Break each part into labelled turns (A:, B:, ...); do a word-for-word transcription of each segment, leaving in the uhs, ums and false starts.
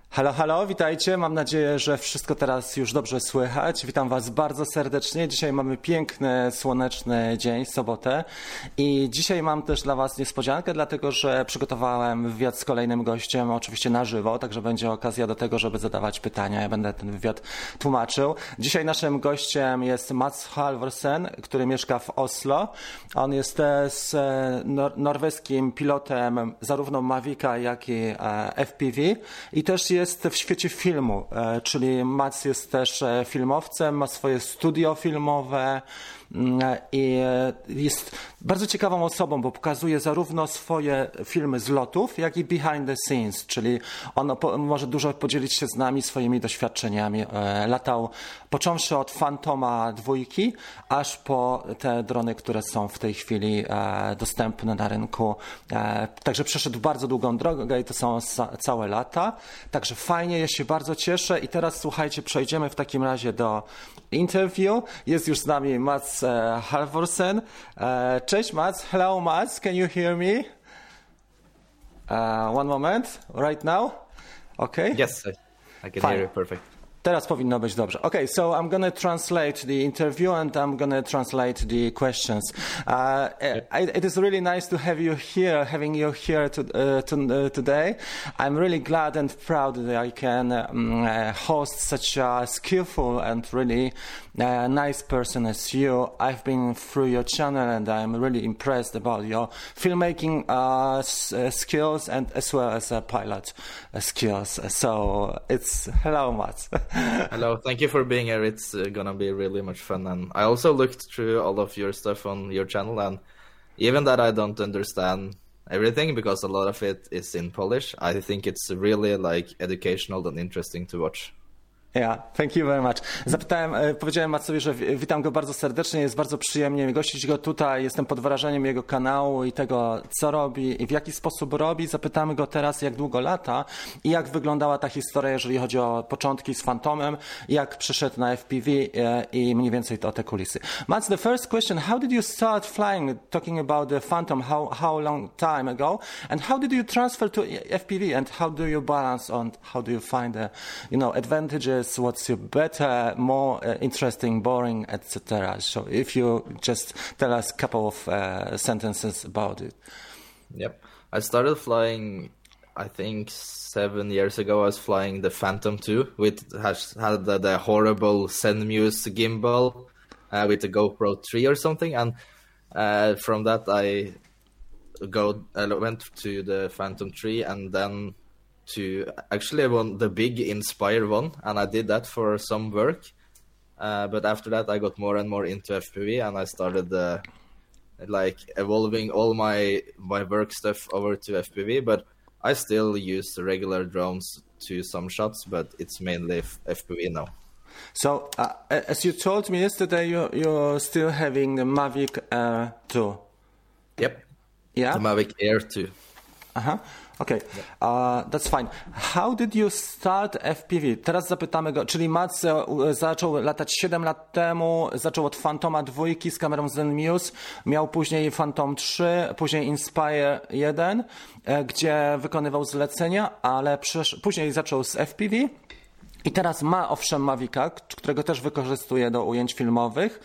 A: Halo, halo, witajcie. Mam nadzieję, że wszystko teraz już dobrze słychać. Witam Was bardzo serdecznie. Dzisiaj mamy piękny, słoneczny dzień, sobotę. I dzisiaj mam też dla Was niespodziankę, dlatego że przygotowałem wywiad z kolejnym gościem, oczywiście na żywo, także będzie okazja do tego, żeby zadawać pytania. Ja będę ten wywiad tłumaczył. Dzisiaj naszym gościem jest Mats Halvorsen, który mieszka w Oslo. On jest z nor- norweskim pilotem zarówno Mavica, jak i F P V i też jest jest w świecie filmu, czyli Mats jest też filmowcem, ma swoje studio filmowe i jest bardzo ciekawą osobą, bo pokazuje zarówno swoje filmy z lotów, jak i behind the scenes, czyli on może dużo podzielić się z nami swoimi doświadczeniami. Latał począwszy od Phantoma dwójki, aż po te drony, które są w tej chwili dostępne na rynku. Także przeszedł bardzo długą drogę i to są całe lata. Także fajnie, ja się bardzo cieszę i teraz słuchajcie, przejdziemy w takim razie do interview. Jest już z nami Mats Halvorsen. Cześć Mats, hello Mats, can you hear me? Uh, one moment, right now? Okay?
B: Yes, I, I can
A: Fine.
B: hear you perfect.
A: Teraz powinno być dobrze. Okay, so I'm going to translate the interview and I'm going to translate the questions. Uh, it, it is really nice to have you here, having you here to, uh, to, uh, today. I'm really glad and proud that I can um, uh, host such a skillful and really uh, nice person as you. I've been through your channel and I'm really impressed about your filmmaking uh, s- uh, skills and as well as uh, pilot uh, skills. So it's hello, Mats.
B: Hello, thank you for being here. It's uh, gonna be really much fun. And I also looked through all of your stuff on your channel, and even that I don't understand everything because a lot of it is in Polish, I think it's really like educational and interesting to watch.
A: Yeah, thank you very much. Zapytałem, powiedziałem Matsowi, że witam go bardzo serdecznie, jest bardzo przyjemnie mi gościć go tutaj, jestem pod wrażeniem jego kanału i tego, co robi i w jaki sposób robi. Zapytamy go teraz, jak długo lata i jak wyglądała ta historia, jeżeli chodzi o początki z Phantomem, jak przyszedł na F P V i mniej więcej o te kulisy. Mats, the first question, how did you start flying, talking about the Phantom, how, how long time ago, and how did you transfer to F P V, and how do you balance on, how do you find the, you know, advantages, what's your better, more uh, interesting, boring, et cetera. So if you just tell us a couple of uh, sentences about it.
B: Yep. I started flying, I think, seven years ago. I was flying the Phantom two, which has had the, the horrible Zenmuse gimbal uh, with the GoPro three or something. And uh, from that, I go I went to the Phantom three and then to actually one the big Inspire one, and I did that for some work. Uh, but after that, I got more and more into F P V, and I started uh, like evolving all my my work stuff over to F P V. But I still use the regular drones to some shots, but it's mainly F P V now.
A: So, uh, as you told me yesterday, you're, you're still having the Mavic Air two.
B: Yep.
A: Yeah.
B: The Mavic Air two.
A: Uh huh. Okay, uh, that's fine. How did you start F P V? Teraz zapytamy go, czyli Mats zaczął latać siedem lat temu, zaczął od Phantoma dwójki z kamerą Zenmuse, miał później Phantom trzy, później Inspire jeden, gdzie wykonywał zlecenia, ale przesz- później zaczął z F P V. I teraz ma owszem Mavica, którego też wykorzystuje do ujęć filmowych,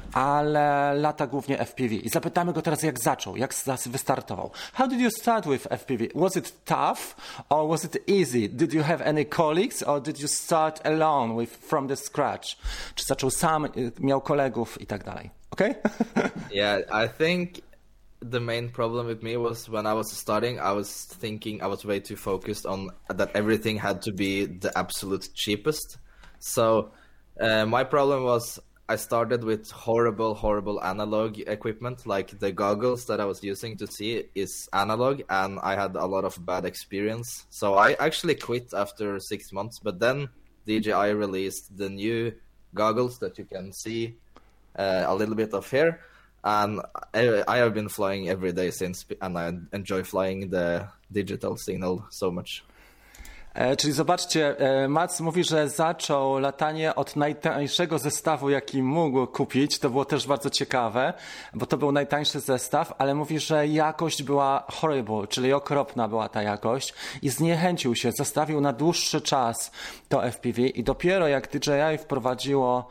A: ale lata głównie F P V. I zapytamy go teraz, jak zaczął, jak wystartował. How did you start with F P V? Was it tough or was it easy? Did you have any colleagues or did you start alone with from the scratch? Czy zaczął sam, miał kolegów i tak dalej? Okay?
B: Yeah, I think the main problem with me was when I was starting, I was thinking I was way too focused on that everything had to be the absolute cheapest. So uh, my problem was I started with horrible, horrible analog equipment. Like the goggles that I was using to see is analog, and I had a lot of bad experience. So I actually quit after six months. But then D J I released the new goggles that you can see uh, a little bit of here. And I, I have been flying every day since, and I enjoy flying the digital signal so much.
A: E, czyli zobaczcie, e, Mats mówi, że zaczął latanie od najtańszego zestawu, jaki mógł kupić. To było też bardzo ciekawe, bo to był najtańszy zestaw, ale mówi, że jakość była horrible, czyli okropna była ta jakość i zniechęcił się, zostawił na dłuższy czas to F P V i dopiero jak D J I wprowadziło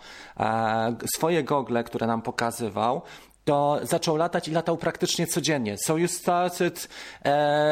A: e, swoje gogle, które nam pokazywał, to zaczął latać i latał praktycznie codziennie. So you started uh,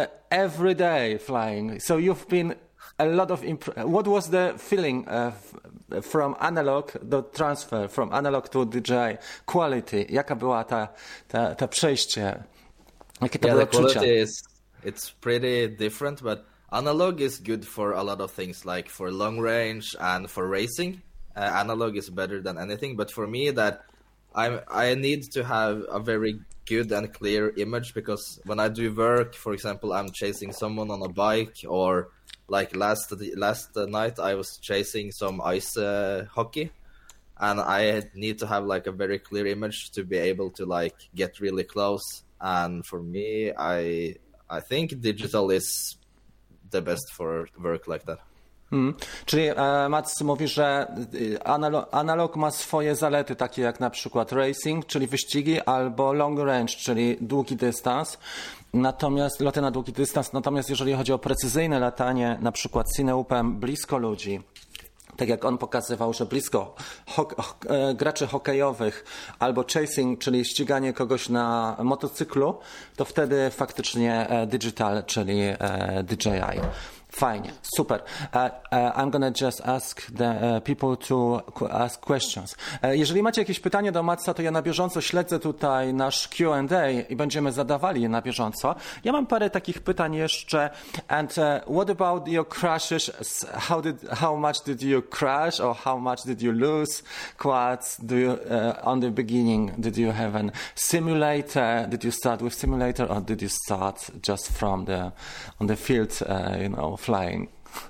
A: every day flying. So you've been a lot of... Imp- What was the feeling uh, f- from analog, the transfer from analog to D J I? Quality. Jaka była ta, ta, ta przejście? Jakie to
B: Yeah,
A: było
B: the quality
A: odczucia?
B: is it's pretty different, but analog is good for a lot of things, like for long range and for racing. Uh, analog is better than anything, but for me that I I need to have a very good and clear image, because when I do work, for example, I'm chasing someone on a bike, or like last last night I was chasing some ice uh, hockey, and I need to have like a very clear image to be able to like get really close. And for me, I I think digital is the best for work like that.
A: Hmm. Czyli e, Mats mówi, że analog, analog ma swoje zalety, takie jak na przykład racing, czyli wyścigi, albo long range, czyli długi dystans. Natomiast loty na długi dystans, natomiast jeżeli chodzi o precyzyjne latanie, na przykład cineupem blisko ludzi, tak jak on pokazywał, że blisko ho- ho- e, graczy hokejowych albo chasing, czyli ściganie kogoś na motocyklu, to wtedy faktycznie e, digital, czyli e, D J I. Fajnie, super. Uh, uh, I'm gonna just ask the uh, people to ask questions. Uh, jeżeli macie jakieś pytania do Matsa, to ja na bieżąco śledzę tutaj nasz Q and A i będziemy zadawali je na bieżąco. Ja mam parę takich pytań jeszcze. And uh, what about your crashes? How did, how much did you crash, or how much did you lose quads? Do you, uh, on the beginning, did you have an simulator? Did you start with simulator, or did you start just from the on the field? Uh, you know. Flying.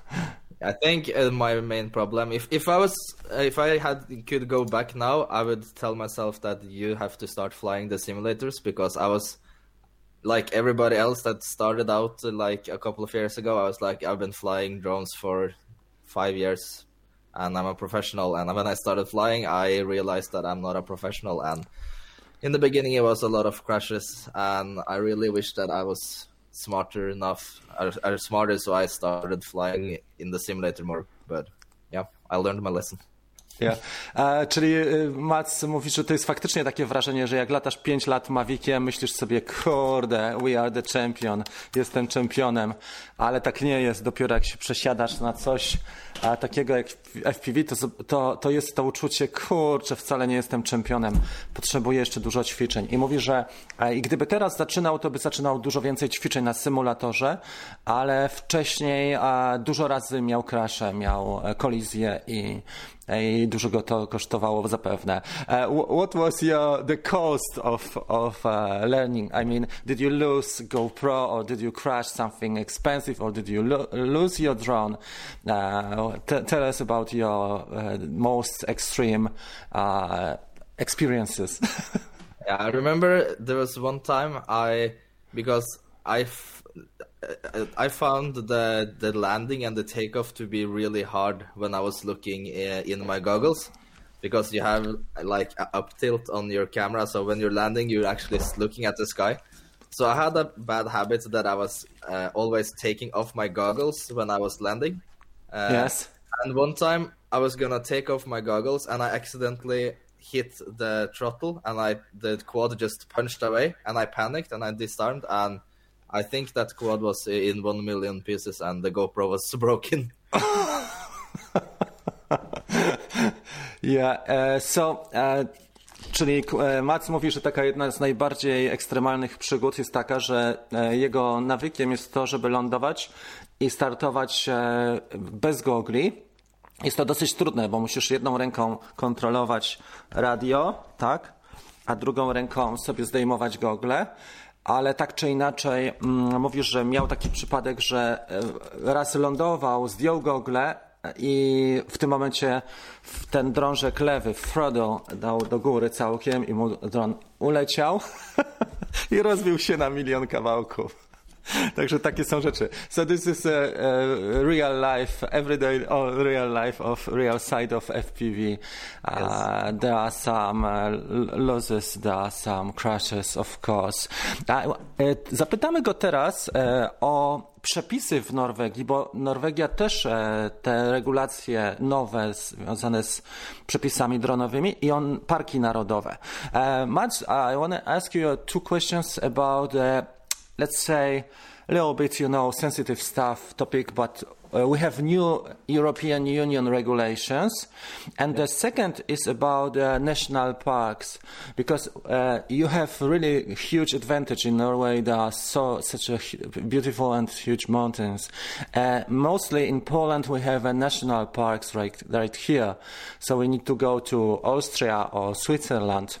B: I think uh, my main problem, if if I was uh, if I had could go back now, I would tell myself that you have to start flying the simulators, because I was like everybody else that started out uh, like a couple of years ago. I was like, I've been flying drones for five years and I'm a professional, and when I started flying I realized that I'm not a professional, and in the beginning it was a lot of crashes, and I really wish that I was smarter enough, or, or smarter, so I started flying in the simulator more. But yeah, I learned my lesson.
A: Yeah. E, czyli y, Mats mówi, że to jest faktycznie takie wrażenie, że jak latasz pięć lat Maviciem, myślisz sobie, kurde, we are the champion, jestem czempionem, ale tak nie jest. Dopiero jak się przesiadasz na coś a takiego jak F P V, to, to, to jest to uczucie, kurczę, wcale nie jestem czempionem, potrzebuję jeszcze dużo ćwiczeń. I mówi, że e, i gdyby teraz zaczynał, to by zaczynał dużo więcej ćwiczeń na symulatorze, ale wcześniej a, dużo razy miał crashe, miał e, kolizję i i dużo go to kosztowało zapewne. Uh, what was your the cost of of uh, learning? I mean, did you lose GoPro, or did you crash something expensive, or did you lo- lose your drone? Uh, t- tell us about your uh, most extreme uh, experiences.
B: Yeah, I remember there was one time I because I. F- I found the the landing and the takeoff to be really hard when I was looking in my goggles, because you have like up tilt on your camera, so when you're landing you're actually looking at the sky. So I had a bad habit that I was uh, always taking off my goggles when I was landing. Uh,
A: yes.
B: And one time I was gonna take off my goggles and I accidentally hit the throttle, and I the quad just punched away, and I panicked and I disarmed, and I think that quad was in one million pieces and the GoPro was broken.
A: Yeah, uh, so, uh, czyli uh, Mats mówi, że taka jedna z najbardziej ekstremalnych przygód jest taka, że uh, jego nawykiem jest to, żeby lądować i startować uh, bez gogli. Jest to dosyć trudne, bo musisz jedną ręką kontrolować radio, tak, a drugą ręką sobie zdejmować gogle. Ale tak czy inaczej mm, mówisz, że miał taki przypadek, że raz lądował, zdjął gogle i w tym momencie ten drążek lewy, throttle, dał do góry całkiem i mu dron uleciał i rozbił się na milion kawałków. Także takie są rzeczy. So this is a, a real life, everyday or real life of real side of F P V. Uh, yes. There are some uh, losses, there are some crashes, of course. Uh, zapytamy go teraz uh, o przepisy w Norwegii, bo Norwegia też e, te regulacje nowe związane z przepisami dronowymi i on parki narodowe. Uh, Mads, I want to ask you two questions about, uh, let's say, a little bit, you know, sensitive stuff topic, but uh, we have new European Union regulations. And the second is about uh, national parks, because uh, you have really huge advantage in Norway. There are so such a beautiful and huge mountains. Uh, mostly in Poland we have uh, national parks right, right here. So we need to go to Austria or Switzerland.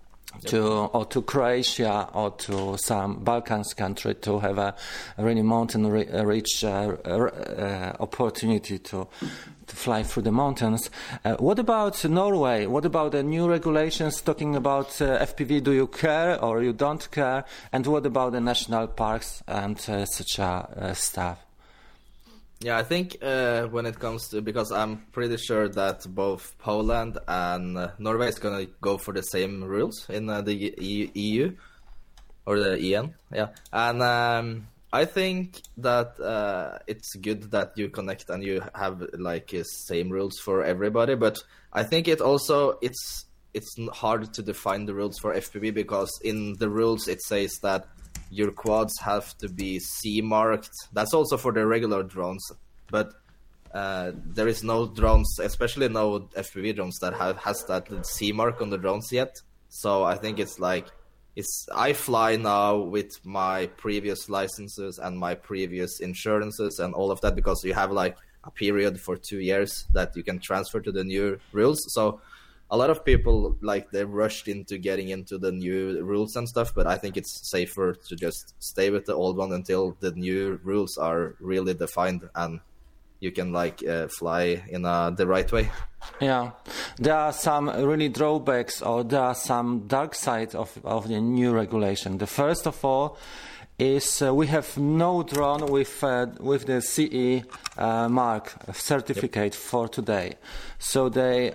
A: To or to Croatia or to some Balkans country to have a really mountain re- rich uh, uh, opportunity to to fly through the mountains. Uh, what about Norway? What about the new regulations talking about uh, F P V? Do you care or you don't care? And what about the national parks and uh, such a uh, stuff?
B: Yeah, I think uh, when it comes to, because I'm pretty sure that both Poland and uh, Norway is going to go for the same rules in uh, the E U or the E N, yeah. And um, I think that uh, it's good that you connect and you have like uh, same rules for everybody. But I think it also it's it's hard to define the rules for F P V, because in the rules it says that your quads have to be C marked. That's also for the regular drones, but uh, there is no drones, especially no F P V drones that have has that C mark on the drones yet. So I think it's like it's I fly now with my previous licenses and my previous insurances and all of that, because you have like a period for two years that you can transfer to the new rules. So a lot of people, like, they rushed into getting into the new rules and stuff, but I think it's safer to just stay with the old one until the new rules are really defined and you can like uh, fly in uh, the right way.
A: Yeah, there are some really drawbacks, or there are some dark sides of, of the new regulation. The first of all is uh, we have no drone with uh, with the C E uh, mark certificate yep. for today. So they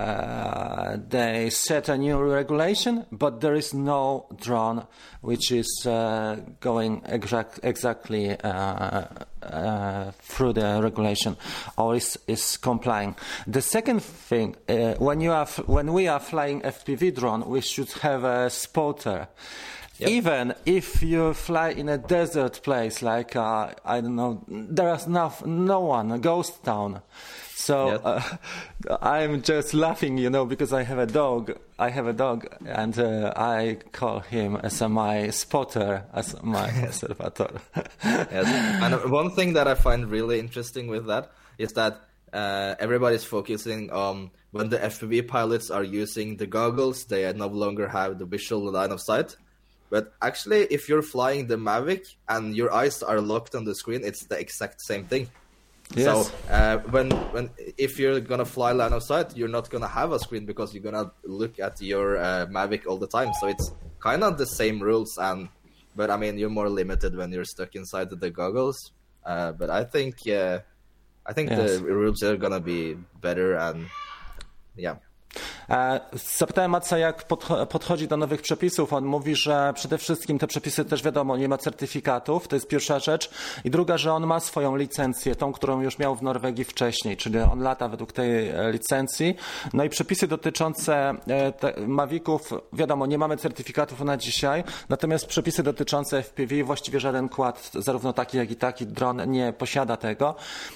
A: uh, they set a new regulation, but there is no drone which is uh, going exact, exactly uh, uh, through the regulation or is is complying. The second thing, uh, when you are f- when we are flying F P V drone, we should have a spotter. Yep. Even if you fly in a desert place, like, uh, I don't know, there is no, no one, a ghost town. So yep. uh, I'm just laughing, you know, because I have a dog. I have a dog, and uh, I call him as a, my spotter, as my observator.
B: Yes. And one thing that I find really interesting with that is that uh, everybody's focusing on when the F P V pilots are using the goggles, they no longer have the visual line of sight. But actually, if you're flying the Mavic and your eyes are locked on the screen, it's the exact same thing. Yes. So uh, when when if you're gonna fly line of sight, you're not gonna have a screen because you're gonna look at your uh, Mavic all the time. So it's kind of the same rules, and but I mean you're more limited when you're stuck inside the goggles. Uh, but I think yeah, I think yes. the rules are gonna be better, and yeah.
A: Zapytałem Matsa, jak podchodzi do nowych przepisów. On mówi, że przede wszystkim te przepisy też wiadomo, nie ma certyfikatów, to jest pierwsza rzecz. I druga, że on ma swoją licencję, tą, którą już miał w Norwegii wcześniej, czyli on lata według tej licencji. No i przepisy dotyczące Maviców, wiadomo, nie mamy certyfikatów na dzisiaj, natomiast przepisy dotyczące F P V, właściwie żaden kład, zarówno taki, jak i taki dron nie posiada tego.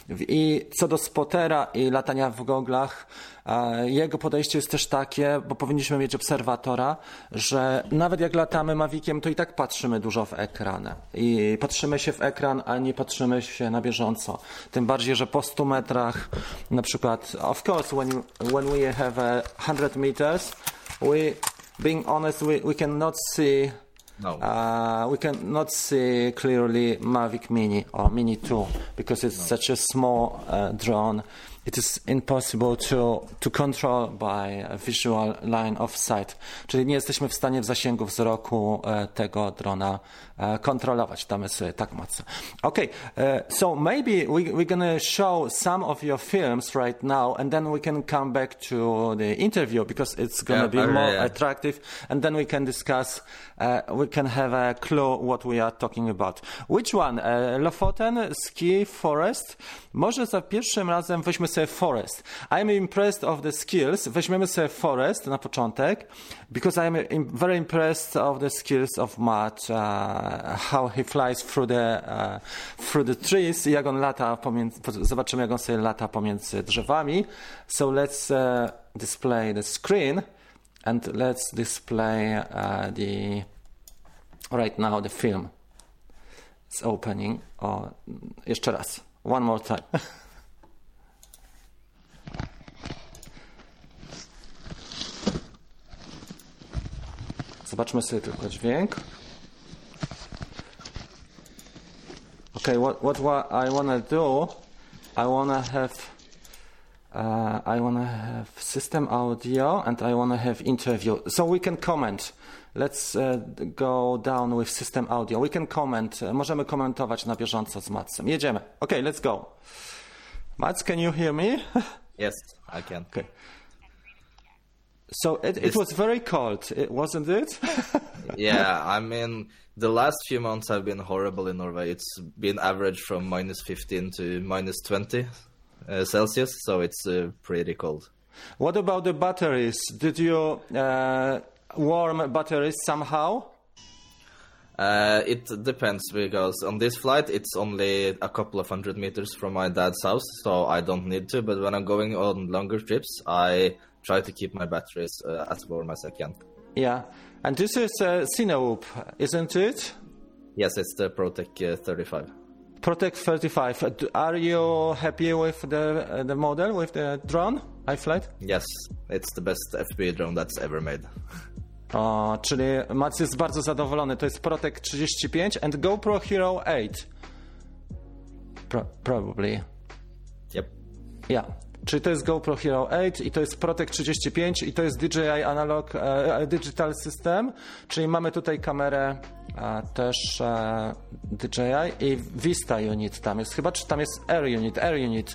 A: I co do spotera i latania w goglach, jego podejście jest też takie, bo powinniśmy mieć obserwatora, że nawet jak latamy Maviciem, to i tak patrzymy dużo w ekran. I patrzymy się w ekran, a nie patrzymy się na bieżąco. Tym bardziej, że po stu metrach, na przykład, of course, when, when we have a hundred meters, we, being honest, we, we cannot see
B: No.
A: Uh, we cannot see clearly Mavic Mini or Mini two because it's no. such a small uh, drone it is impossible to, to control by a visual line of sight. Czyli nie jesteśmy w stanie w zasięgu wzroku e, tego drona e, kontrolować. Damy sobie tak mocno. Okay, uh, so maybe we, we're gonna show some of your films right now and then we can come back to the interview because it's gonna
B: yeah,
A: be
B: okay,
A: more
B: yeah.
A: attractive and then we can discuss, uh, we can have a clue what we are talking about. Which one? Uh, Lofoten, ski, forest? Może za pierwszym razem weźmy sobie forest. I'm impressed of the skills. Weźmiemy sobie forest na początek because I'm im- very impressed of the skills of Matt, uh, how he flies through the, uh, through the trees, jak on lata pomiędzy, zobaczymy jak on sobie lata pomiędzy drzewami. So let's uh, display the screen and let's display uh, the, right now the film. It's opening. O, jeszcze raz. One more time. Zobaczmy sobie tylko dźwięk. Okay, what what, what I wanna do? I wanna have uh, I wanna have system audio and I wanna have interview, so we can comment. Let's uh, go down with system audio. We can comment. Możemy komentować na bieżąco z Matsem. Jedziemy. Okay, let's go. Mats, can you hear me?
B: Yes, I can.
A: Okay. So it, it was very cold, it, wasn't it?
B: Yeah, I mean, the last few months have been horrible in Norway. It's been average from minus fifteen to minus twenty uh, Celsius, so it's uh, pretty cold.
A: What about the batteries? Did you uh, warm batteries somehow?
B: Uh, it depends because on this flight it's only a couple of hundred meters from my dad's house, so I don't need to. But when I'm going on longer trips, I try to keep my batteries uh, as warm as I can.
A: Yeah, and this is uh, Cinewoop, isn't it?
B: Yes, it's the Protec uh, thirty-five.
A: Protec thirty-five. Uh, Are you happy with the uh, the model, with the drone, iFlight?
B: Yes, it's the best F P V drone that's ever made.
A: O, czyli Mats jest bardzo zadowolony. To jest Protec trzydzieści pięć and GoPro Hero osiem. Pro- probably.
B: Yep.
A: Yeah. Czyli to jest GoPro Hero osiem i to jest Protec trzydzieści pięć i to jest D J I Analog e, Digital System, czyli mamy tutaj kamerę e, też e, D J I i Vista Unit tam jest chyba, czy tam jest Air Unit, Air Unit.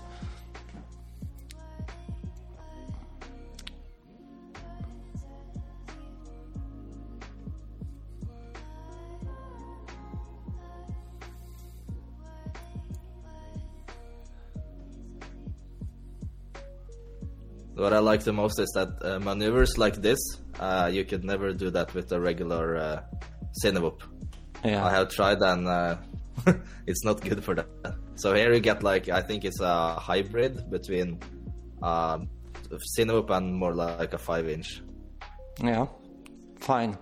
B: What I like the most is that uh, maneuvers like this, uh, you could never do that with a regular uh, Cinewoop.
A: Yeah.
B: I have tried and uh, it's not good for that. So here you get like, I think it's a hybrid between uh, Cinewoop and more like a five inch.
A: Yeah, fine.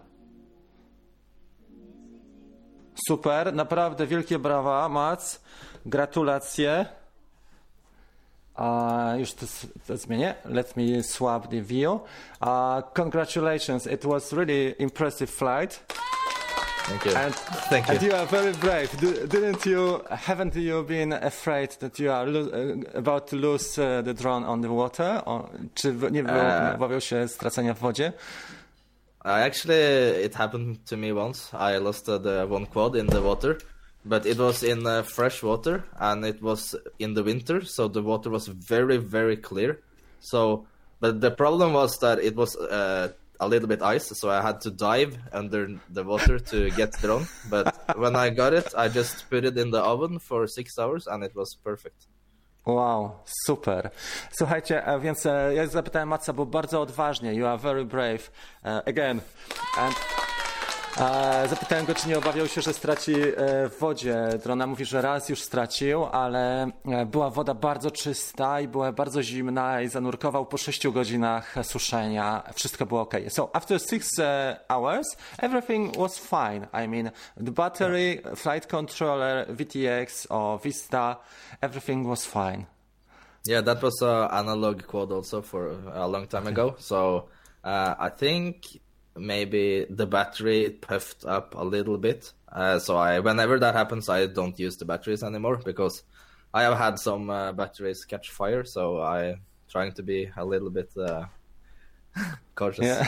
A: Super, naprawdę wielkie brawa, Mats. Gratulacje. Uh, już to, to zmienię. Let me swap the view. Uh, congratulations, it was really impressive flight.
B: Thank you.
A: And,
B: Thank
A: and
B: you.
A: you are very brave. D- didn't you? Haven't you been afraid that you are lo- uh, about to lose uh, the drone on the water? Or, czy w- nie
B: Uh,
A: obawiał się stracenia w wodzie?
B: I actually, it happened to me once. I lost uh, the one quad in the water, but it was in uh, fresh water and it was in the winter, so the water was very, very clear. So, but the problem was that it was uh, a little bit ice, so I had to dive under the water to get the drone. But when I got it, I just put it in the oven for six hours and it was perfect.
A: Wow, super. Słuchajcie, e, więc e, ja zapytałem Matsa, bo bardzo odważnie, you are very brave, uh, again. And, e, zapytałem go, czy nie obawiał się, że straci e, w wodzie drona. Mówi, że raz już stracił, ale e, była woda bardzo czysta i była bardzo zimna i zanurkował po sześciu godzinach suszenia. Wszystko było ok. So after six uh, hours, everything was fine. I mean, the battery, flight controller, V T X or Vista, everything was fine.
B: Yeah, that was an analog quad also for a long time ago. So uh, I think maybe the battery puffed up a little bit. Uh, so I, whenever that happens, I don't use the batteries anymore because I have had some uh, batteries catch fire, so I'm trying to be a little bit uh, cautious.
A: Yeah.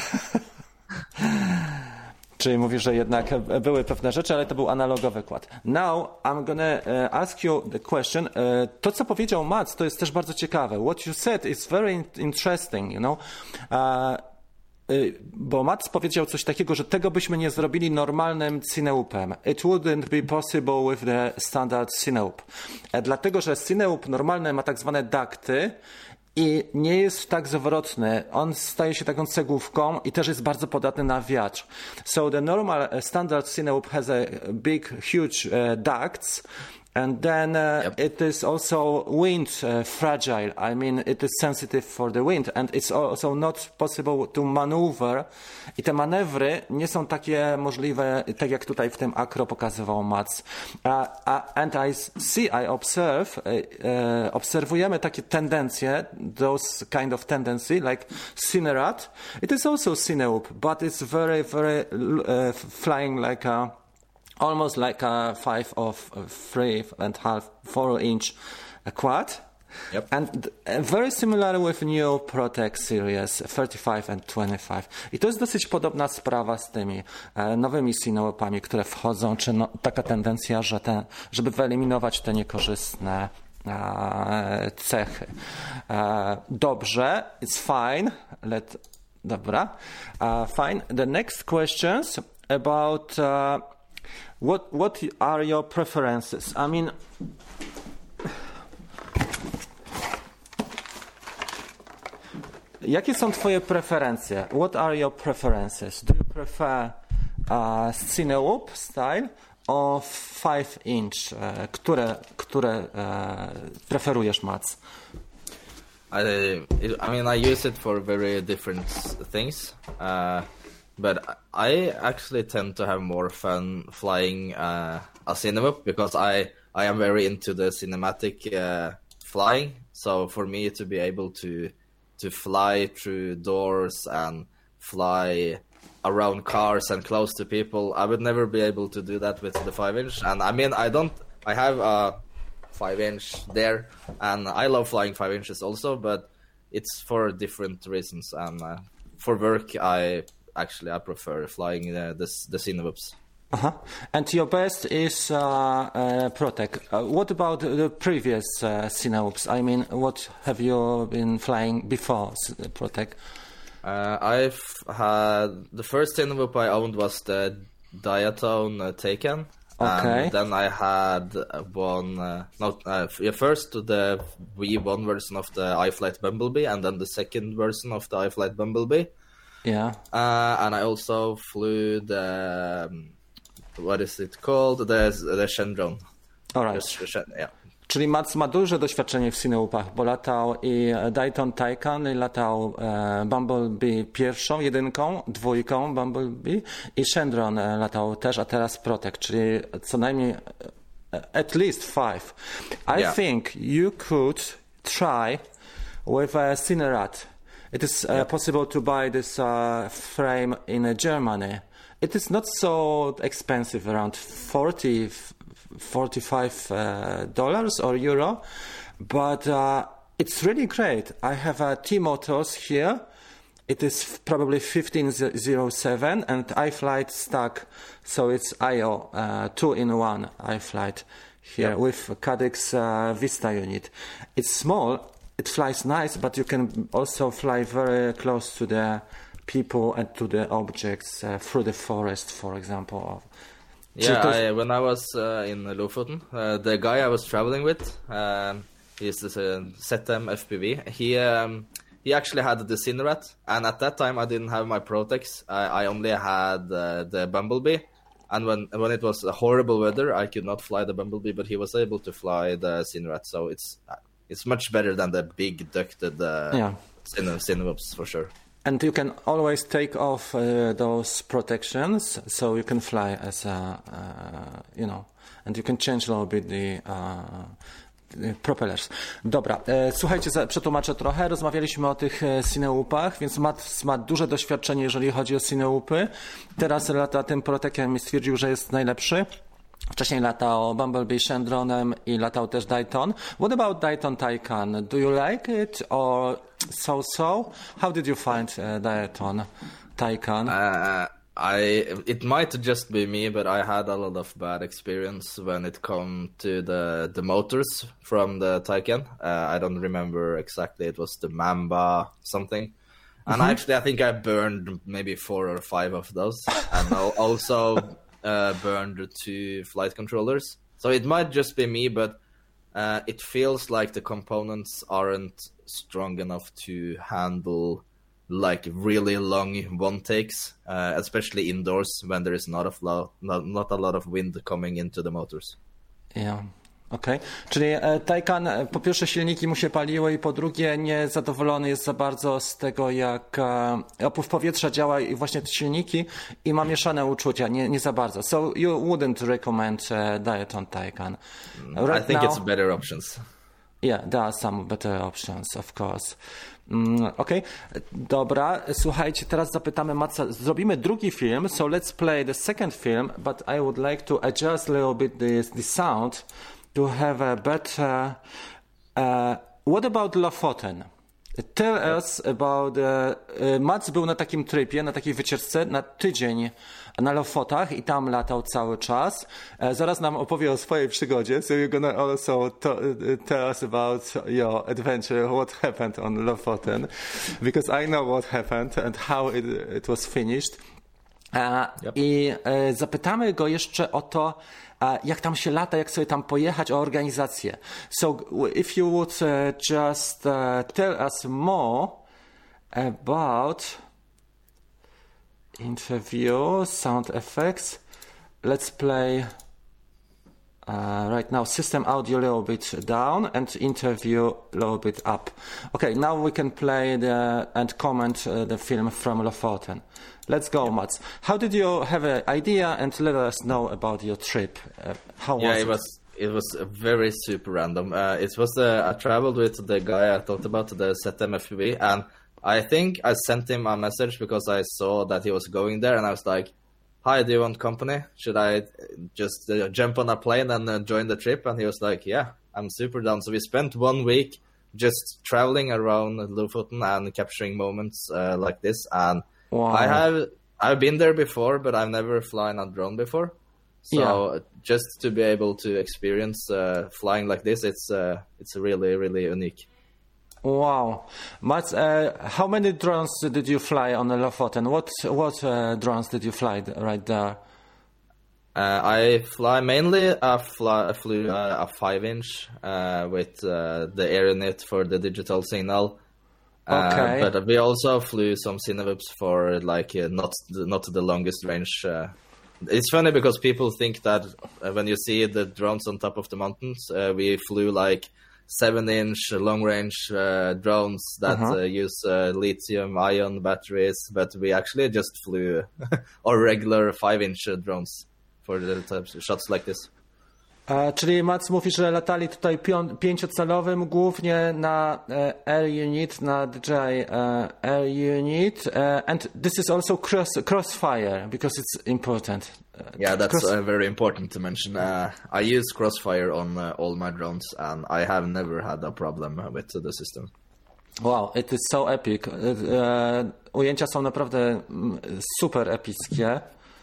A: Czyli mówisz, że jednak były pewne rzeczy, ale to był analogowy kład. Now I'm gonna uh, ask you the question. Uh, to, co powiedział Mats, to jest też bardzo ciekawe. What you said is very interesting, you know. Uh, Bo Mats powiedział coś takiego, że tego byśmy nie zrobili normalnym Cineupem. It wouldn't be possible with the standard Cineup. Dlatego, że Cineup normalny ma tak zwane ducty i nie jest tak zwrotny. On staje się taką cegłówką i też jest bardzo podatny na wiatr. So the normal standard Cineup has a big, huge uh, ducts. And then uh, yep. It is also wind uh, fragile. I mean, it is sensitive for the wind, and it's also not possible to maneuver. I te manewry nie są takie możliwe, tak jak tutaj w tym akro pokazywał Mats. Uh, uh, and I see, I observe, uh, uh, obserwujemy takie tendencje, those kind of tendency, like Cinerat. It is also Cineup, but it's very, very uh, flying like a almost like a five of three and half, four inch quad.
B: Yep.
A: And very similar with new Protec series thirty-five and twenty-five. I to jest dosyć podobna sprawa z tymi e, nowymi Cineupami, które wchodzą, czy no, taka tendencja, że te, żeby wyeliminować te niekorzystne e, cechy. E, dobrze, it's fine. Let, dobra, uh, fine. The next questions about uh, What what are your preferences? I mean, jakie są twoje preferencje? What are your preferences? Do you prefer uh, Cineup style or five inch? Uh, które które uh, preferujesz, Mats?
B: I I mean I use it for very different things. Uh, But I actually tend to have more fun flying uh, a Cineup because I, I am very into the cinematic uh, flying. So for me to be able to to fly through doors and fly around cars and close to people, I would never be able to do that with the five inch. And I mean, I don't. I have a five inch there, and I love flying five inches also, but it's for different reasons. And uh, for work, I. Actually, I prefer flying uh, the the Cineups.
A: Uh-huh. And your best is uh, uh, Protec. Uh, what about the previous uh, Cineups? I mean, what have you been flying before Protec?
B: Uh, I've had the first Cineup I owned was the Diatone uh, Taken.
A: Okay.
B: And then I had one. Uh, no, uh, first the V one version of the iFlight Bumblebee, and then the second version of the iFlight Bumblebee.
A: Yeah.
B: Uh, and I also flew the, um, what is it called? The, the Shendron.
A: All right.
B: The, yeah.
A: Czyli Mats ma duże doświadczenie w Cineupach, bo latał i Dayton Taycan, i latał e, Bumblebee pierwszą, jedynką, dwójką Bumblebee i Shendron e, latał też, a teraz Protec, czyli co najmniej e, at least five. I yeah. think you could try with a Cinerat. It is uh, yep. possible to buy this uh, frame in uh, Germany. It is not so expensive, around forty, forty-five uh, dollars or euro, but uh, it's really great. I have a T-Motors here. It is f- probably fifteen oh seven and iFlight stack, so it's I O, uh, two-in-one iFlight here yep. with Cadex uh, Vista unit. It's small. It flies nice, but you can also fly very close to the people and to the objects uh, through the forest, for example.
B: Yeah, I, when I was uh, in Lofoten, uh, the guy I was traveling with, um, he's this uh, Z M F P V. He um, he actually had the Cinerat, and at that time I didn't have my Protex. I, I only had uh, the Bumblebee, and when when it was horrible weather, I could not fly the Bumblebee, but he was able to fly the Cinerat. So it's it's much better than the big ducted uh,
A: yeah.
B: Cineups for sure.
A: And you can always take off uh, those protections, so you can fly as a, uh, you know, and you can change a little bit the, uh, the propellers. Dobra, e, słuchajcie, za, przetłumaczę trochę. Rozmawialiśmy o tych e, Cineupach, więc Mats ma duże doświadczenie, jeżeli chodzi o Cineupy. Teraz lata tym Proteciem i stwierdził, że jest najlepszy. Wcześniej latał Bumblebee Shandronem i latał też Dayton. What about Dayton Taycan? Do you like it or so-so? How did you find uh, Dayton Taycan?
B: Uh, I it might just be me, but I had a lot of bad experience when it come to the the motors from the Taycan. Uh, I don't remember exactly. It was the Mamba something, and mm-hmm. actually I think I burned maybe four or five of those, and also uh, burned two flight controllers. So it might just be me, but uh, it feels like the components aren't strong enough to handle like really long one takes, uh, especially indoors when there is not a lot, not, not a lot of wind coming into the motors.
A: Yeah. Okej, okay. Czyli e, Taycan, po pierwsze silniki mu się paliły i po drugie niezadowolony jest za bardzo z tego, jak e, opływ powietrza działa i właśnie te silniki i ma mieszane uczucia, nie, nie za bardzo. So you wouldn't recommend uh, Dayton Taycan?
B: Right I think now, it's better options.
A: Yeah, there are some better options, of course. Mm, Okej, okay. Dobra, słuchajcie, teraz zapytamy Matsa, zrobimy drugi film, so let's play the second film, but I would like to adjust a little bit the, the sound to have a better... Uh, what about Lofoten? Tell us about... Uh, uh, Mats był na takim tripie, na takiej wycieczce na tydzień na Lofotach i tam latał cały czas. Uh, zaraz nam opowie o swojej przygodzie, so you're gonna also to, uh, tell us about your adventure, what happened on Lofoten, because I know what happened and how it, it was finished. Uh, yep. I uh, zapytamy go jeszcze o to, uh, jak tam się lata, jak sobie tam pojechać, o organizację. So if you would uh, just uh, tell us more about interview, sound effects. Let's play uh, right now system audio a little bit down and interview a little bit up. Okay, now we can play the and comment uh, the film from Lofoten. Let's go, yeah. Mats. How did you have an idea, and let us know about your trip? Uh, how
B: yeah,
A: was it?
B: it was it was very super random. Uh, it was uh, I traveled with the guy I talked about, the Z M F B, and I think I sent him a message because I saw that he was going there, and I was like, "Hi, do you want company? Should I just uh, jump on a plane and uh, join the trip?" And he was like, "Yeah, I'm super down." So we spent one week just traveling around Lofoten and capturing moments uh, like this, and wow. I have I've been there before, but I've never flown a drone before. So yeah. just to be able to experience uh, flying like this, it's uh, it's really really unique.
A: Wow, Mats, uh, how many drones did you fly on the Lofoten? What what uh, drones did you fly right there?
B: Uh, I fly mainly. I, fly, I flew uh, a five-inch uh, with uh, the AeroNet for the digital signal.
A: Okay.
B: Uh, but we also flew some Cinewhoops for like uh, not not the longest range. Uh, it's funny because people think that uh, when you see the drones on top of the mountains, uh, we flew like seven-inch long-range uh, drones that
A: uh-huh.
B: uh, use uh, lithium-ion batteries, but we actually just flew our regular five-inch uh, drones for the types of shots like this.
A: Uh, czyli Mats mówi, że latali tutaj pią- pięciocalowym głównie na uh, Air Unit, na D J uh, Air Unit, uh, and this is also cross crossfire because it's important. Uh,
B: yeah, that's
A: cross-
B: uh, very important to mention. Uh, I use Crossfire on uh, all my drones, and I have never had a problem with the system.
A: Wow, it is so epic. Uh, uh, ujęcia są naprawdę super epickie.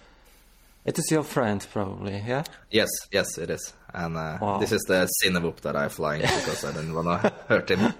A: It is your friend, probably, yeah?
B: Yes, yes, it is. And uh,
A: wow.
B: this is the Cinewhoop that I'm flying because I didn't want to hurt him.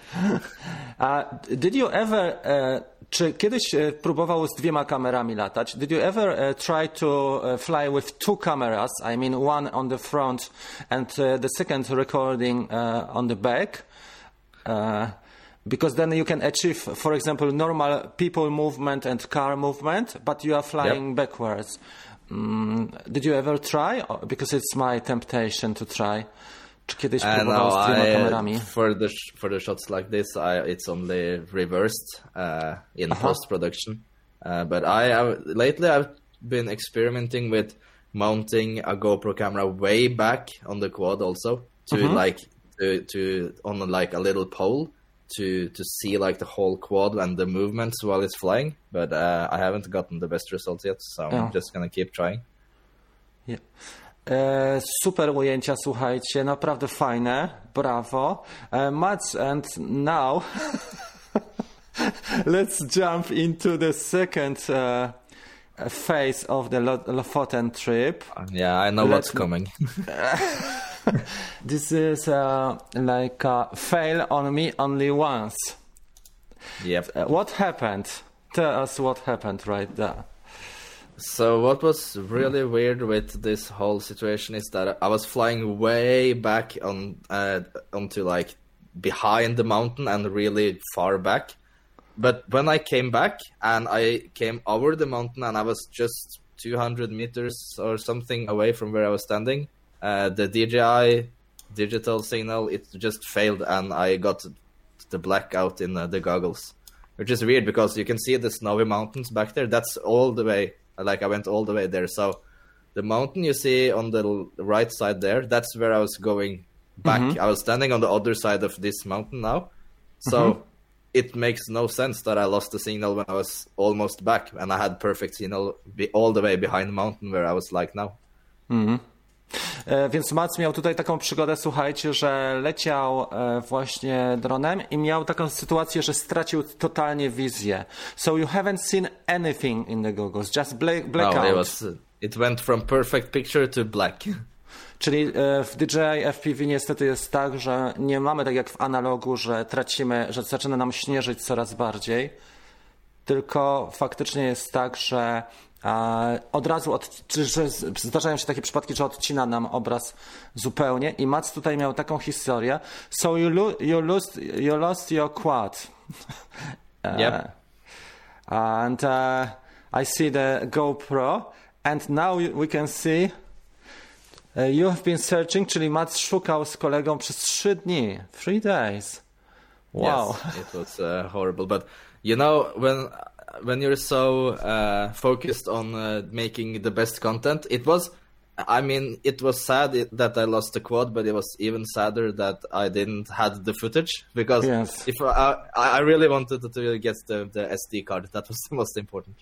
A: Uh, did you ever, uh, czy kiedyś uh, próbował z dwiema kamerami latać? Did you ever uh, try to uh, fly with two cameras? I mean, one on the front and uh, the second recording uh, on the back? Uh, because then you can achieve, for example, normal people movement and car movement, but you are flying yep. backwards. Mm, did you ever try? Because it's my temptation to try. Czy kiedyś próbował z dwiema kamerami?
B: For the for the shots like this, I, it's only reversed uh, in uh-huh. post production. Uh, but I have, lately I've been experimenting with mounting a GoPro camera way back on the quad also to uh-huh. like to to on like a little pole to to see like the whole quad and the movements while it's flying, but uh, I haven't gotten the best results yet, so yeah. I'm just gonna keep trying.
A: Yeah. E, super ujęcia, słuchajcie, naprawdę fajne, brawo. E, Mats, and now let's jump into the second uh, phase of the Lofoten trip.
B: Yeah, I know
A: Let
B: what's coming.
A: This is uh, like a fail on me only once.
B: Yep.
A: Uh, what happened? Tell us what happened right there.
B: So what was really weird with this whole situation is that I was flying way back on uh, onto like behind the mountain and really far back. But when I came back and I came over the mountain and I was just two hundred meters or something away from where I was standing, uh, the D J I digital signal, it just failed and I got the blackout in uh, the goggles, which is weird because you can see the snowy mountains back there. That's all the way. Like I went all the way there. So the mountain you see on the right side there, that's where I was going back. Mm-hmm. I was standing on the other side of this mountain now. So mm-hmm. it makes no sense that I lost the signal when I was almost back and I had perfect signal be all the way behind the mountain where I was like now.
A: Mm-hmm. E, więc Mats miał tutaj taką przygodę, słuchajcie, że leciał e, właśnie dronem i miał taką sytuację, że stracił totalnie wizję. So you haven't seen anything in the goggles, just black, blackout.
B: No, it was, it went from perfect picture to black.
A: Czyli e, w D J I F P V niestety jest tak, że nie mamy tak jak w analogu, że tracimy, że zaczyna nam śnieżyć coraz bardziej, tylko faktycznie jest tak, że od razu od, że zdarzają się takie przypadki, że odcina nam obraz zupełnie i Mats tutaj miał taką historię. So you, lo- you, lost, you lost your quad.
B: Yep.
A: uh, and uh, I see the GoPro and now we can see uh, you have been searching, czyli Mats szukał z kolegą przez trzy dni, three days. Wow.
B: Yes, it was uh, horrible, but you know when when you're so uh, focused on uh, making the best content, it was, I mean, it was sad it, that I lost the quad, but it was even sadder that I didn't had the footage because
A: yes.
B: if I, I really wanted to get the, the S D card. That was the most important.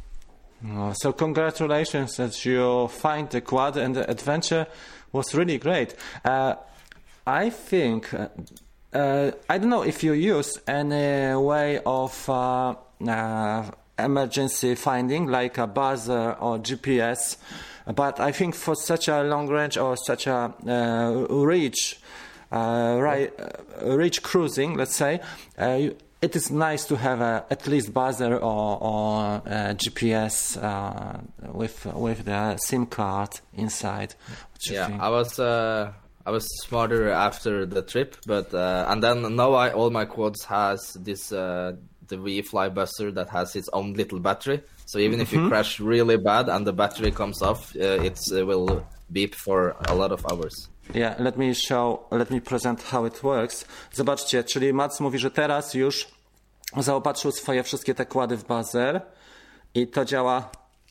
A: Oh, so congratulations that you find the quad and the adventure was really great. Uh, I think, uh, uh, I don't know if you use any way of uh, Uh, emergency finding like a buzzer or G P S, but I think for such a long range or such a uh, reach, uh, right, uh, reach cruising, let's say, uh, it is nice to have a, at least buzzer or, or uh, G P S uh, with with the SIM card inside.
B: Yeah, think? I was uh, I was smarter after the trip, but uh, and then now I, all my quads has this. Uh, the V-Fly buzzer that has its own little battery. So even mm-hmm. if you crash really bad and the battery comes off, uh, it uh, will beep for a lot of hours.
A: Yeah, let me show, let me present how it works. Zobaczcie, czyli Mats mówi, że teraz już zaopatrzył swoje wszystkie te kłady w buzzer i to działa.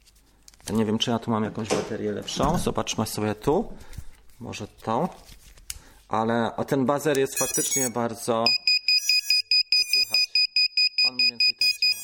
A: Nie wiem, czy ja tu mam jakąś baterię lepszą. Zobaczmy sobie tu. Może tą. Ale ten buzzer jest faktycznie bardzo... On mniej więcej tak działa.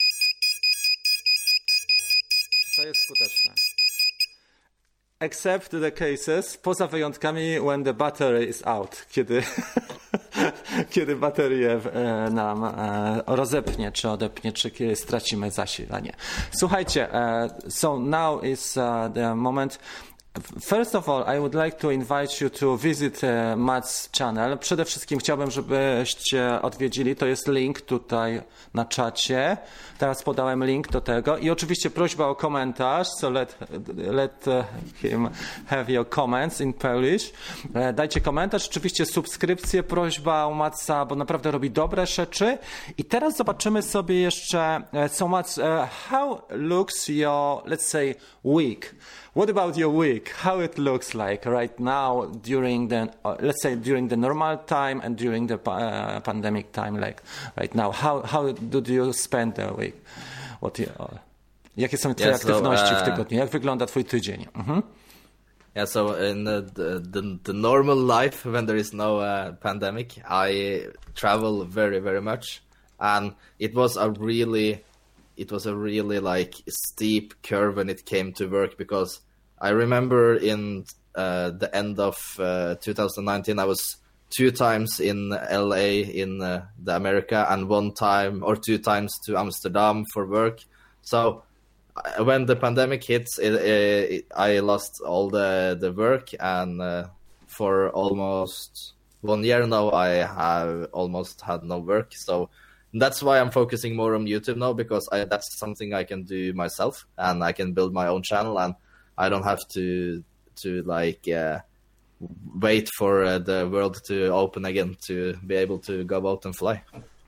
A: To jest skuteczne. Except the cases, poza wyjątkami when the battery is out, kiedy, kiedy baterię e, nam e, rozepnie, czy odepnie, czy kiedy stracimy zasilanie. Słuchajcie, e, so now is uh, the moment. First of all, I would like to invite you to visit uh, Mats' channel. Przede wszystkim chciałbym, żebyście odwiedzili. To jest link tutaj na czacie. Teraz podałem link do tego. I oczywiście prośba o komentarz. So let, let him have your comments in Polish. Dajcie komentarz. Oczywiście subskrypcję. Prośba o Matsa, bo naprawdę robi dobre rzeczy. I teraz zobaczymy sobie jeszcze, so Mats, uh, how looks your, let's say, week? What about your week? How it looks like right now during the, uh, let's say during the normal time and during the uh, pandemic time, like right now? How how do you spend the week? What you, uh, jakie są twoje
B: yeah, so,
A: aktywności
B: uh,
A: w tygodniu? Jak wygląda twój tydzień? Mhm.
B: Yeah, so in the, the the normal life when there is no uh, pandemic, I travel very very much, and it was a really, it was a really like steep curve when it came to work because I remember in uh, the end of uh, two thousand nineteen, I was two times in L A in uh, the America, and one time or two times to Amsterdam for work. So uh, when the pandemic hits, it, it, I lost all the the work, and uh, for almost one year now, I have almost had no work. So that's why I'm focusing more on YouTube now, because I, that's something I can do myself, and I can build my own channel, and I don't have to to like uh, wait for uh, the world to open again to be able to go out and fly.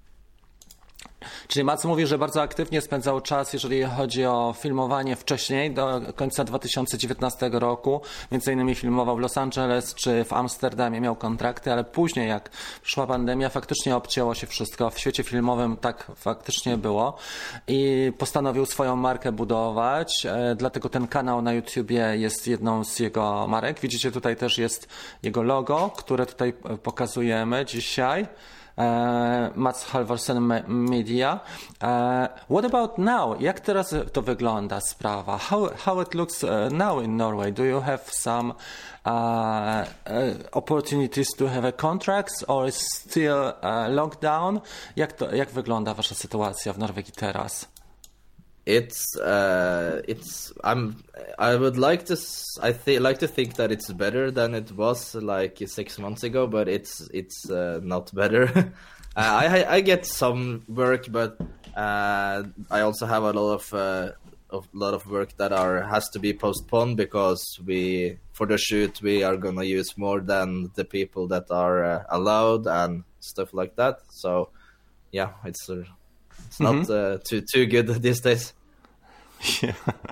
A: Czyli Mats mówi, że bardzo aktywnie spędzał czas, jeżeli chodzi o filmowanie wcześniej, do końca dwa tysiące dziewiętnastego roku. Między innymi filmował w Los Angeles czy w Amsterdamie, miał kontrakty, ale później jak przyszła pandemia, faktycznie obcięło się wszystko. W świecie filmowym tak faktycznie było i postanowił swoją markę budować, dlatego ten kanał na YouTubie jest jedną z jego marek. Widzicie, tutaj też jest jego logo, które tutaj pokazujemy dzisiaj. Uh, Mats Halvorsen Media. Uh, what about now? Jak teraz to wygląda sprawa? How, how it looks uh, now in Norway? Do you have some uh, uh, opportunities to have a contracts, or is still uh, lockdown? Jak, to, jak wygląda wasza sytuacja w Norwegii teraz?
B: It's uh, it's I'm I would like to I th- like to think that it's better than it was like six months ago, but it's it's uh, not better. uh, I I get some work, but uh, I also have a lot of uh, of lot of work that are has to be postponed because we for the shoot we are gonna use more than the people that are uh, allowed and stuff like that. So yeah, it's uh, it's mm-hmm. not uh, too too good these days.
A: Yeah.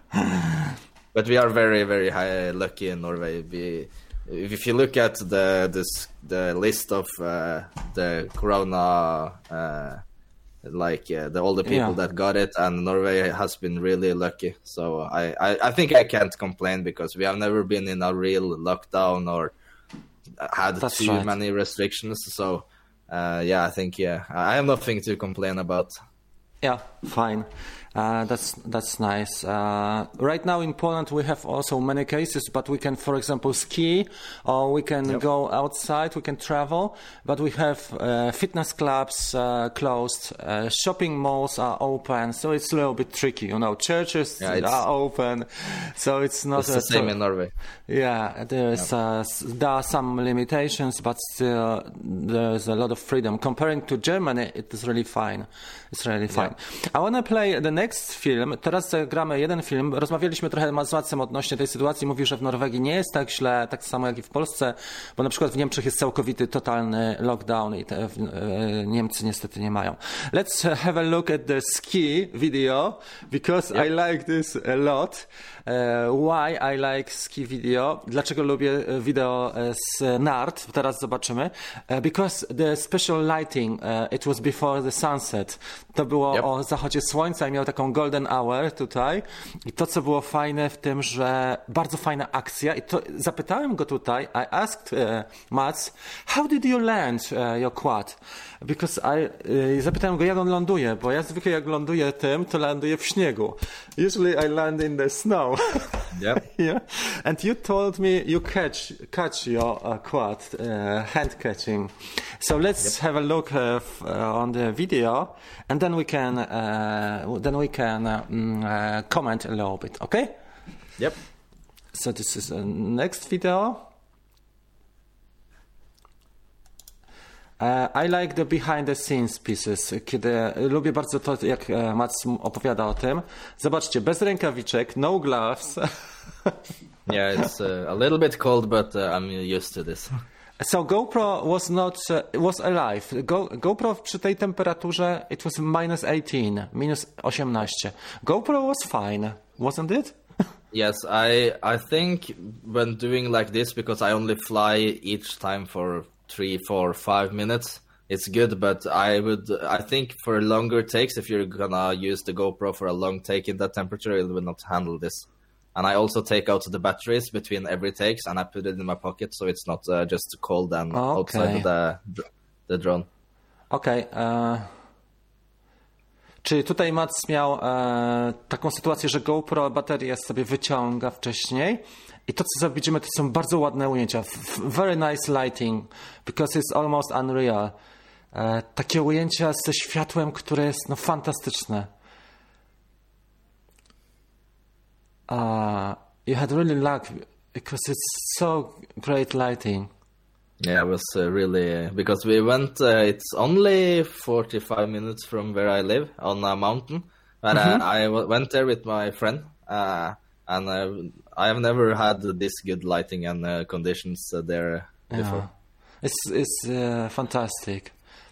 B: But we are very, very high, lucky in Norway. We, if you look at the this the list of uh, the corona, uh, like uh, the all the people yeah. that got it, and Norway has been really lucky. So I, I, I think I can't complain because we have never been in a real lockdown or had
A: That's
B: too
A: right.
B: many restrictions. So uh, yeah, I think yeah, I have nothing to complain about.
A: Yeah, fine. Uh, that's that's nice. Uh, right now in Poland we have also many cases, but we can, for example, ski, or we can yep. go outside, we can travel, but we have uh, fitness clubs uh, closed, uh, shopping malls are open, so it's a little bit tricky, you know. Churches yeah, are open, so it's not
B: it's the same in Norway.
A: Yeah, there's yep. uh, there are some limitations, but still there's a lot of freedom. Comparing to Germany, it is really fine. It's really fine. Yep. I want to play the next film. Teraz gramy jeden film. Rozmawialiśmy trochę z Matsem odnośnie tej sytuacji. Mówi, że w Norwegii nie jest tak źle, tak samo jak i w Polsce, bo na przykład w Niemczech jest całkowity, totalny lockdown i te, w, e, Niemcy niestety nie mają. Let's have a look at the ski video, because yep. I like this a lot. Uh, why I like ski video? Dlaczego lubię wideo z nart? Teraz zobaczymy. Uh, because the special lighting, uh, it was before the sunset. To było yep. o zachodzie słońca i miał taką golden hour tutaj. I to, co było fajne w tym, że bardzo fajna akcja. I to zapytałem go tutaj, I asked uh, Mats, how did you land uh, your quad? Because I, uh, zapytałem go, jak on ląduje, bo ja zwykle jak ląduję tym, to ląduję w śniegu. Usually I land in the snow.
B: Yep.
A: Yeah. And you told me you catch catch your uh, quad, uh, hand catching. So let's yep. have a look uh, f- uh, on the video, and then we can uh, then we can uh, mm, uh, comment a little bit. Okay?
B: Yep.
A: So this is the next video. Uh, I like the behind the scenes pieces, kiedy lubię bardzo to, jak Mats opowiada o tym. Zobaczcie, bez rękawiczek, no gloves.
B: Yeah, it's uh, a little bit cold, but uh, I'm used to this.
A: So GoPro was not uh, was alive. Go, GoPro przy tej temperaturze it was minus eighteen, minus osiemnaście. GoPro was fine, wasn't it?
B: Yes, I I think when doing like this, because I only fly each time for three, four, five minutes, it's good, but I would, I think for longer takes, if you're gonna use the GoPro for a long take in that temperature, it will not handle this. And I also take out the batteries between every takes, and I put it in my pocket, so it's not uh, just cold and
A: okay.
B: outside of the the drone.
A: Okej. Okay, uh... Czyli tutaj Mats miał e, taką sytuację, że GoPro baterię sobie wyciąga wcześniej i to, co widzimy, to są bardzo ładne ujęcia. Very nice lighting, because it's almost unreal. E, takie ujęcia ze światłem, które jest no, fantastyczne. Uh, you had really luck because it's so great lighting.
B: Yeah, it was uh, really uh, because we went. Uh, it's only forty-five minutes from where I live on a mountain, but mm-hmm. uh, I w- went there with my friend, uh, and uh, I have never had this good lighting and uh, conditions uh, there before.
A: Yeah. It's it's uh, fantastic.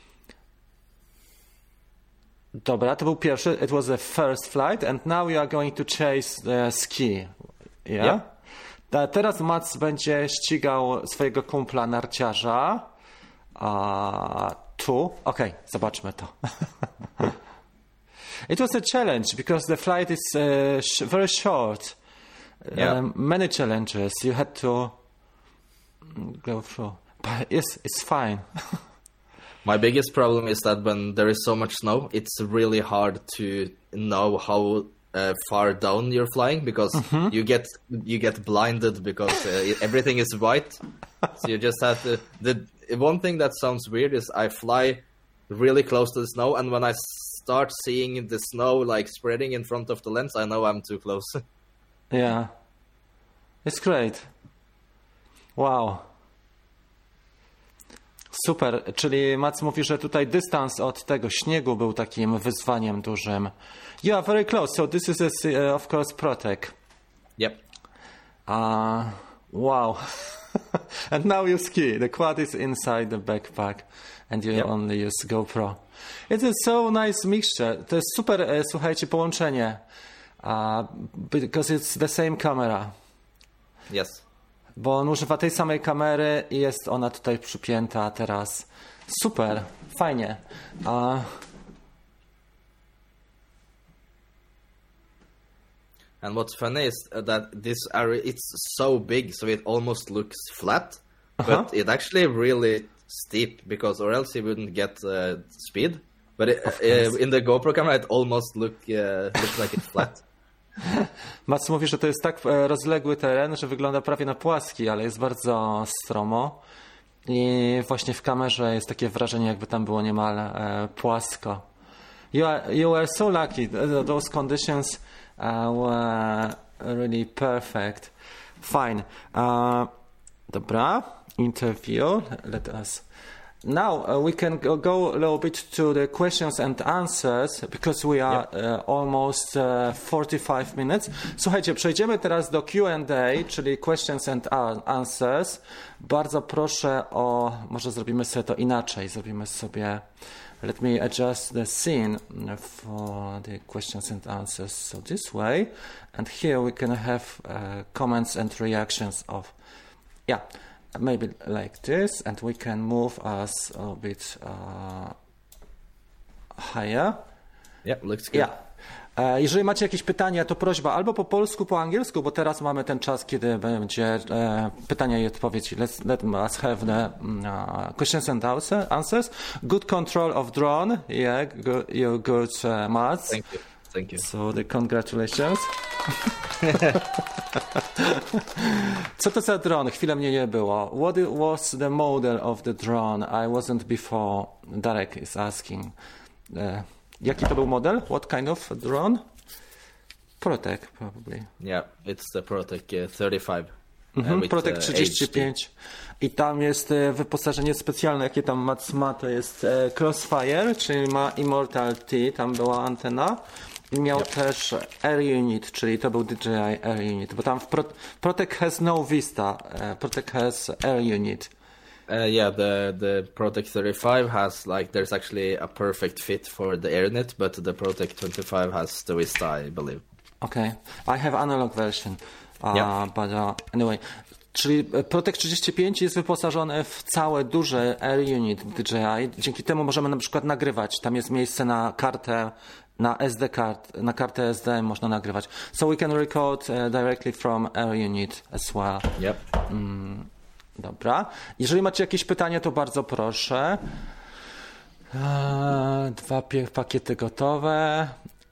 A: Dobra, to był pierwszy. It was the first flight, and now you are going to chase the ski. Yeah. Yep. Teraz Mats będzie ścigał swojego kumpla narciarza. Uh, tu. Okej, okay, zobaczmy to. It was a challenge because the flight is uh, sh- very short.
B: Yeah.
A: Um, many challenges. You had to go through. But it's, it's fine.
B: My biggest problem is that when there is so much snow, it's really hard to know how uh, far down you're flying because mm-hmm. you get you get blinded because uh, everything is white. So you just have to. The one thing that sounds weird is I fly really close to the snow, and when I start seeing the snow like spreading in front of the lens, I know I'm too close.
A: Yeah, it's great. Wow. Super, czyli Mats mówi, że tutaj dystans od tego śniegu był takim wyzwaniem dużym. You are very close, so this is a, uh, of course Protec.
B: Yep.
A: Uh, wow. And now you ski. The quad is inside the backpack and you yep. only use GoPro. It is so nice mixture. To jest super, e, słuchajcie, połączenie. Uh, because it's the same camera.
B: Yes.
A: Bo on używa tej samej kamery i jest ona tutaj przypięta teraz. Super, fajnie. Uh...
B: And what's funny is that this area, it's so big, so it almost looks flat, uh-huh. but it actually really steep, because or else you wouldn't get uh, speed. But it, uh, in the GoPro camera, it almost look, uh, looks like it's flat.
A: Mats mówi, że to jest tak rozległy teren, że wygląda prawie na płaski, ale jest bardzo stromo i właśnie w kamerze jest takie wrażenie, jakby tam było niemal e, płasko. You are, you were so lucky. Those conditions uh, were really perfect. Fine. Uh, dobra. Interview. Let us... Now uh, we can go, go a little bit to the questions and answers because we are yep. uh, almost uh, forty-five minutes. Słuchajcie, przejdziemy teraz do Q and A, czyli questions and answers. Bardzo proszę o, może zrobimy sobie to inaczej. Zrobimy sobie, let me adjust the scene for the questions and answers. So this way, and here we can have uh, comments and reactions of, yeah. Maybe like this, and we can move us a bit uh, higher.
B: Yeah, looks good.
A: Yeah. E, jeżeli macie jakieś pytania, to prośba albo po polsku, po angielsku, bo teraz mamy ten czas, kiedy będzie e, pytania i odpowiedzi. Let's, let us have the uh, questions and answers. Good control of drone. Yeah, good, you're good, uh, Mats.
B: Thank you. Thank you.
A: So the congratulations. Co to za dron? Chwilę mnie nie było. What was the model of the drone? I wasn't before. Darek is asking. Uh, jaki to był model? What kind of drone? Protec, probably.
B: Yeah, it's the Protec uh, thirty-five.
A: Mhm,
B: uh,
A: Protec
B: uh,
A: trzydzieści pięć. I tam jest e, wyposażenie specjalne, jakie tam Mats ma, to jest e, Crossfire, czyli ma Immortal T, tam była antena. I miał yep. też Air Unit, czyli to był D J I Air Unit, bo tam w Pro- Protec has no Vista, uh, Protec has Air Unit.
B: Uh, yeah, the the Protec thirty-five has like there's actually a perfect fit for the Air Unit, but the Protec twenty-five has the Vista, I believe.
A: Okay, I have analog version, uh, yep. but uh, anyway. Czyli Protec trzydzieści pięć jest wyposażony w całe duże Air Unit D J I. Dzięki temu możemy na przykład nagrywać. Tam jest miejsce na kartę, na S D card, na kartę S D można nagrywać. So we can record uh, directly from Air Unit as well.
B: Yep.
A: Mm, dobra. Jeżeli macie jakieś pytania, to bardzo proszę. Uh, Dwa pie- pakiety gotowe.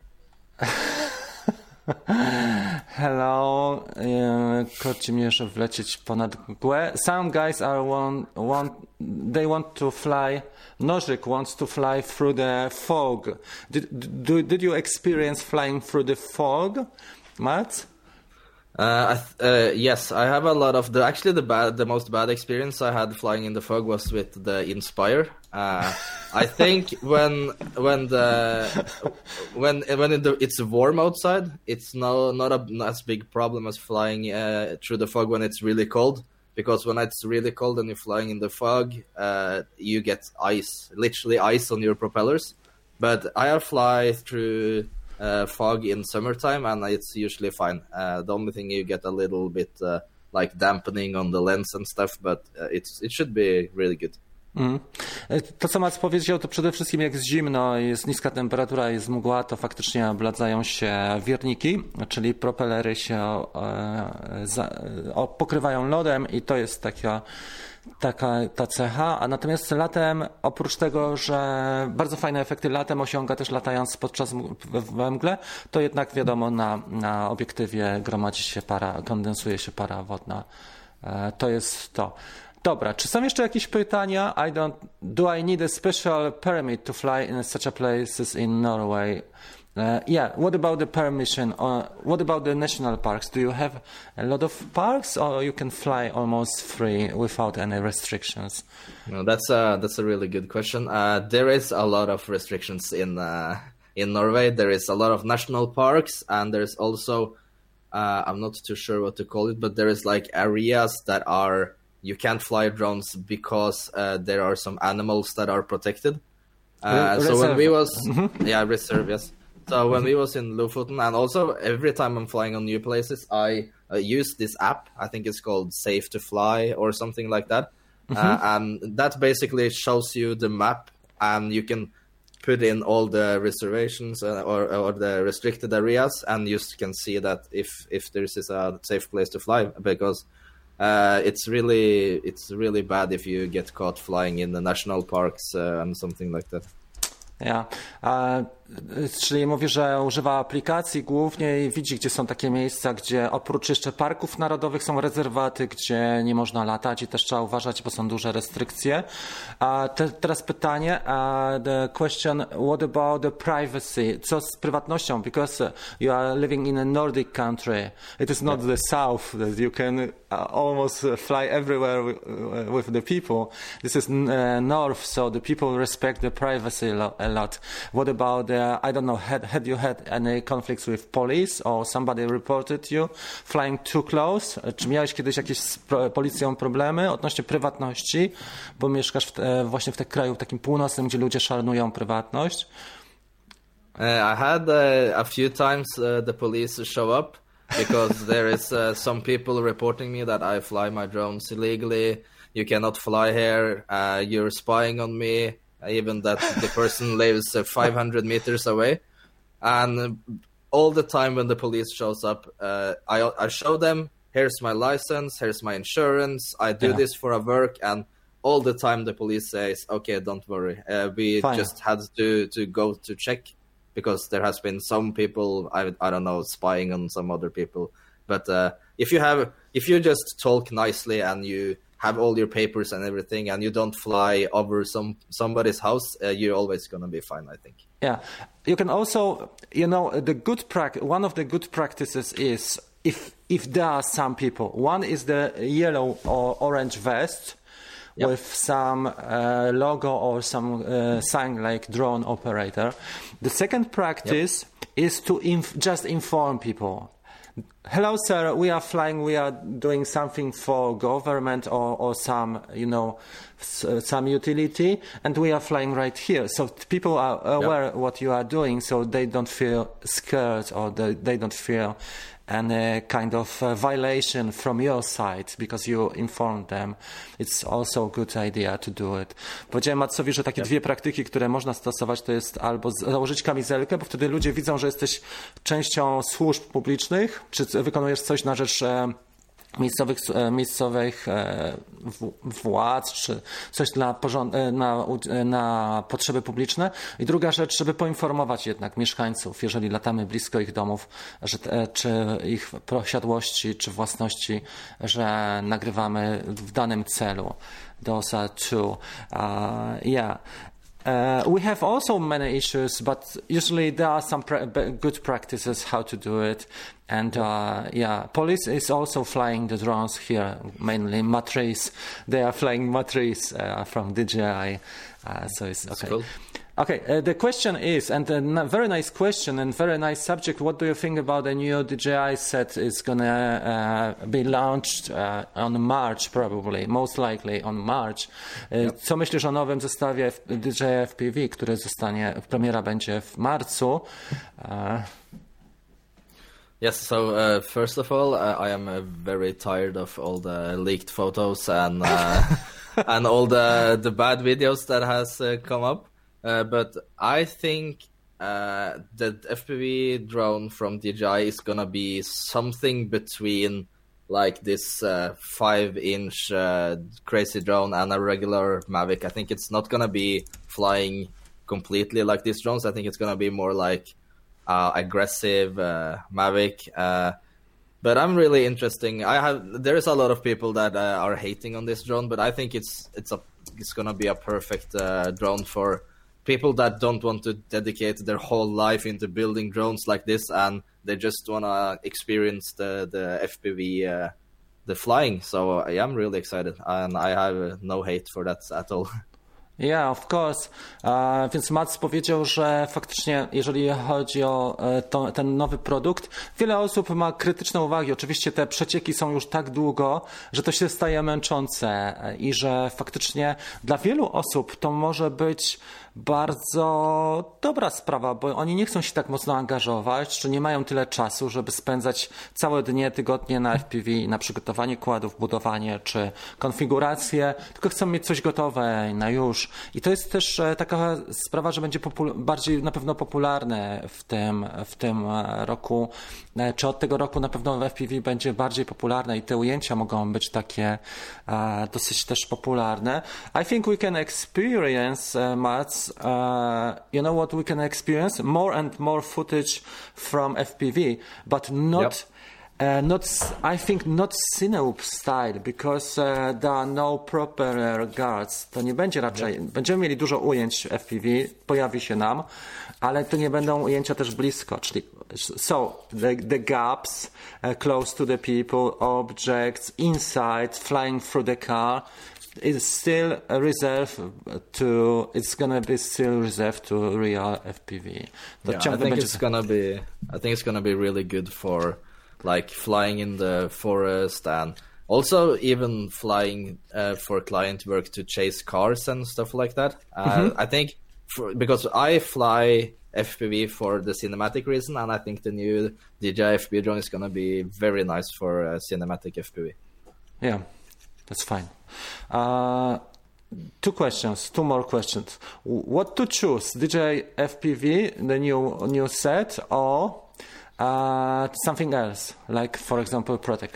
A: Hello, koci mnie, żeby wlecieć ponad mgłę. Some guys are want, want, they want to fly. Nożyk wants to fly through the fog. Did, did, did you experience flying through the fog, Mats?
B: Uh, I th- uh, yes, I have a lot of the. Actually, the bad, the most bad experience I had flying in the fog was with the Inspire. Uh, I think when when the when when it, it's warm outside, it's no not a not as big problem as flying uh, through the fog when it's really cold. Because when it's really cold and you're flying in the fog, uh, you get ice, literally ice on your propellers. But I fly through uh, fog in summertime, and it's usually fine. Uh, the only thing you get a little bit uh, like dampening on the lens and stuff, but uh, it's it should be really good.
A: Mm. To, co Mats powiedział, to przede wszystkim jak jest zimno, jest niska temperatura, jest mgła, to faktycznie obladzają się wirniki, czyli propelery się e, za, o, pokrywają lodem i to jest taka, taka ta cecha. A natomiast latem, oprócz tego, że bardzo fajne efekty latem osiąga też latając podczas we mgle, to jednak wiadomo na, na obiektywie gromadzi się para, kondensuje się para wodna. E, to jest to. Dobra, czy są jeszcze jakieś pytania? I don't. Do I need a special permit to fly in such a places in Norway? Uh, yeah. What about the permission? Or what about the national parks? Do you have a lot of parks, or you can fly almost free without any restrictions?
B: No, that's a that's a really good question. Uh, there is a lot of restrictions in uh, in Norway. There is a lot of national parks, and there's also uh, I'm not too sure what to call it, but there is like areas that are. You can't fly drones because uh, there are some animals that are protected. Uh, so when we was, mm-hmm. yeah, reserve, yes. So mm-hmm. when we was in Lofoten, and also every time I'm flying on new places, I uh, use this app. I think it's called Safe to Fly or something like that. Mm-hmm. Uh, and that basically shows you the map, and you can put in all the reservations uh, or, or the restricted areas, and you can see that if, if there is a safe place to fly, because Uh, it's really it's really bad if you get caught flying in the national parks uh, and something like that.
A: Ja. Yeah. Czyli mówi, że używa aplikacji głównie i widzi, gdzie są takie miejsca, gdzie oprócz jeszcze parków narodowych są rezerwaty, gdzie nie można latać i też trzeba uważać, bo są duże restrykcje. A te, teraz pytanie, uh, the question, what about the privacy? Co z prywatnością? Because you are living in a Nordic country. It is not yeah. the south that you can almost fly everywhere with, with the people. This is uh, north, so the people respect the privacy a lot. What about the Uh, I don't know, had, had you had any conflicts with police or somebody reported you flying too close? Czy miałeś kiedyś jakieś z pro, policją problemy odnośnie prywatności, bo mieszkasz w te, właśnie w tym kraju takim północnym, gdzie ludzie szanują prywatność?
B: Uh, I had uh, a few times uh, the police show up because there is uh, some people reporting me that I fly my drones illegally. You cannot fly here. Uh, you're spying on me. Even that the person lives uh, five hundred meters away. And all the time when the police shows up, uh, I, I show them, here's my license, here's my insurance, I do yeah. this for a work, and all the time the police says, okay, don't worry. Uh, we Fine. just had to, to go to check because there has been some people, I, I don't know, spying on some other people. But uh, if you have, if you just talk nicely and you have all your papers and everything, and you don't fly over some somebody's house, uh, you're always going to be fine, I think.
A: Yeah. You can also, you know, the good prac- one of the good practices is if if there are some people. One is the yellow or orange vest yep. with some uh, logo or some uh, sign like drone operator. The second practice yep. is to inf- just inform people. Hello, sir. We are flying. We are doing something for government or, or some, you know, some utility, and we are flying right here. So people are aware yep. what you are doing, so they don't feel scared or they, they don't feel any kind of uh, violation from your side because you informed them. It's also a good idea to do it. Powiedziałem Matsowi, że takie yep. dwie praktyki, które można stosować, to jest albo założyć kamizelkę, bo wtedy ludzie widzą, że jesteś częścią służb publicznych, czy wykonujesz coś na rzecz miejscowych, miejscowych władz, czy coś dla porząd- na, na potrzeby publiczne. I druga rzecz, żeby poinformować jednak mieszkańców, jeżeli latamy blisko ich domów, że, czy ich posiadłości, czy własności, że nagrywamy w danym celu. Those are two. Uh, yeah. Uh, we have also many issues, but usually there are some pra- good practices how to do it. And uh, yeah, police is also flying the drones here, mainly Matrice. They are flying Matrice uh, from D J I, uh, so it's
B: That's
A: okay.
B: cool.
A: Okay, uh, the question is, and a n- very nice question and very nice subject. What do you think about the new D J I set? Is gonna uh, be launched uh, on March, probably, most likely on March. Uh, yep. Co myślisz o nowym zestawie D J I F P V, który zostanie, premiera będzie w marcu? Uh,
B: Yes, so uh, first of all, uh, I am uh, very tired of all the leaked photos and uh, and all the the bad videos that has uh, come up. Uh, but I think uh, the F P V drone from D J I is gonna be something between like this uh, five-inch uh, crazy drone and a regular Mavic. I think it's not gonna be flying completely like these drones. I think it's gonna be more like uh, aggressive uh, Mavic. Uh, but I'm really interesting. I have there's a lot of people that uh, are hating on this drone, but I think it's it's a it's gonna be a perfect uh, drone for people that don't want to dedicate their whole life into building drones like this, and they just want to experience the, the F P V, uh, the flying. So I am really excited, and I have uh, no hate for that at all.
A: Yeah, of course. Uh, więc Mats powiedział, że faktycznie, jeżeli chodzi o to, ten nowy produkt, wiele osób ma krytyczne uwagi. Oczywiście te przecieki są już tak długo, że to się staje męczące i że faktycznie dla wielu osób to może być bardzo dobra sprawa, bo oni nie chcą się tak mocno angażować, czy nie mają tyle czasu, żeby spędzać całe dnie, tygodnie na F P V, na przygotowanie kładów, budowanie czy konfigurację, tylko chcą mieć coś gotowe na już. I to jest też taka sprawa, że będzie popul- bardziej na pewno popularne w tym, w tym roku, czy od tego roku na pewno w F P V będzie bardziej popularne i te ujęcia mogą być takie uh, dosyć też popularne. I think we can experience, uh, Mats, Uh, you know what we can experience? More and more footage from F P V, but not,
B: yep.
A: uh, not. I think not Cineoop style, because uh, there are no proper uh, guards. To nie będzie raczej. Yep. Będziemy mieli dużo ujęć F P V, pojawi się nam, ale to nie będą ujęcia też blisko. Czyli, so the, the gaps uh, close to the people, objects inside, flying through the car. It's still reserved to. It's gonna be still reserved to real F P V.
B: Yeah, I think it's gonna be. I think it's gonna be really good for, like, flying in the forest and also even flying uh, for client work to chase cars and stuff like that. Uh, mm-hmm. I think for, because I fly F P V for the cinematic reason, and I think the new D J I F P V drone is gonna be very nice for uh, cinematic F P V.
A: Yeah, that's fine. Uh, two questions, two more questions. What to choose, D J I F P V, the new new set, or uh, something else, like, for example, Protec?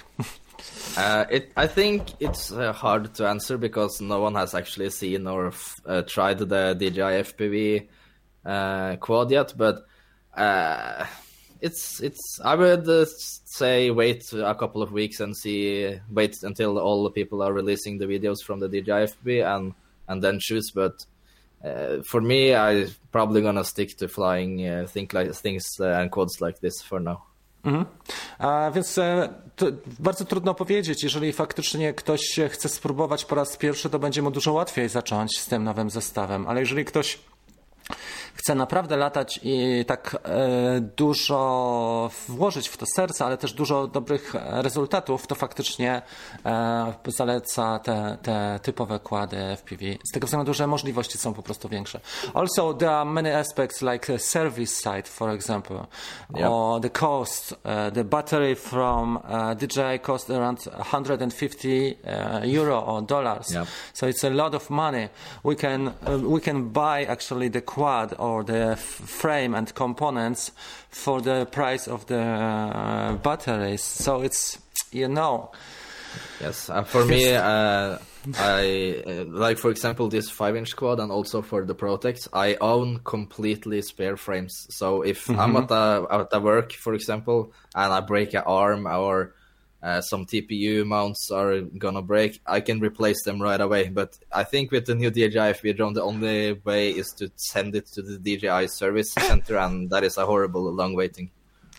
B: uh, it, I think it's uh, hard to answer because no one has actually seen or f- uh, tried the D J I F P V uh, quad yet, but uh, it's it's. I would uh, say wait a couple of weeks and see. Wait until all the people are releasing the videos from the D J I F P V and and then choose. But uh, for me, I'm probably gonna stick to flying uh, think like things uh, and quads like this for now.
A: Mhm. A więc e, to bardzo trudno powiedzieć. Jeżeli faktycznie ktoś chce spróbować po raz pierwszy, to będzie mu dużo łatwiej zacząć z tym nowym zestawem. Ale jeżeli ktoś chce naprawdę latać i tak e, dużo włożyć w to serca, ale też dużo dobrych rezultatów, to faktycznie e, zaleca te, te typowe kłady F P V. Z tego względu, że możliwości są po prostu większe. Also, there are many aspects like the service side, for example, yep. or the cost. Uh, the battery from uh, D J I cost around one hundred fifty uh, euro or dollars. Yep. So it's a lot of money. We can uh, we can buy actually the quad or the f- frame and components for the price of the uh, batteries. So it's, you know,
B: Yes, and for me, uh, I uh, like, for example, this five-inch quad, and also for the Protex, I own completely spare frames. So if mm-hmm. I'm at a, at a work, for example, and I break an arm or uh, some T P U mounts are gonna break, I can replace them right away. But I think with the new D J I F P V drone, the only way is to send it to the D J I service center, and that is a horrible long waiting.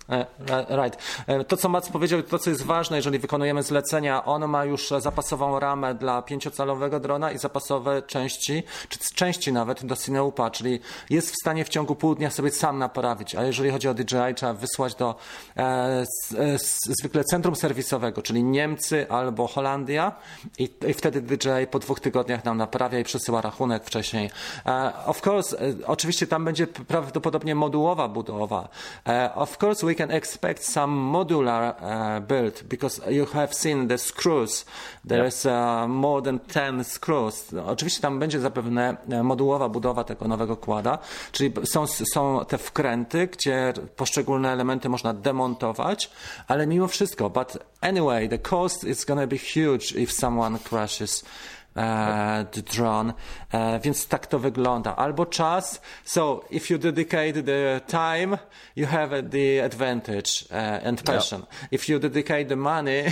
A: Right. To, co Mats powiedział, to, co jest ważne, jeżeli wykonujemy zlecenia, on ma już zapasową ramę dla pięciocalowego drona i zapasowe części, czy części nawet do Cineupa, czyli jest w stanie w ciągu pół dnia sobie sam naprawić, a jeżeli chodzi o D J I, trzeba wysłać do e, e, zwykle centrum serwisowego, czyli Niemcy albo Holandia i, i wtedy D J I po dwóch tygodniach nam naprawia i przesyła rachunek wcześniej. E, of course, e, oczywiście tam będzie prawdopodobnie modułowa budowa. E, of course, we can expect some modular uh, build because you have seen the screws. There's uh, more than ten screws. Oczywiście tam będzie zapewne modułowa budowa tego nowego kłada, czyli są, są te wkręty, gdzie poszczególne elementy można demontować, ale mimo wszystko, but anyway, the cost is gonna be huge if someone crashes Uh, the drone, uh, więc tak to wygląda. Albo czas, so if you dedicate the time, you have the advantage uh, and passion. Yep. If you dedicate the money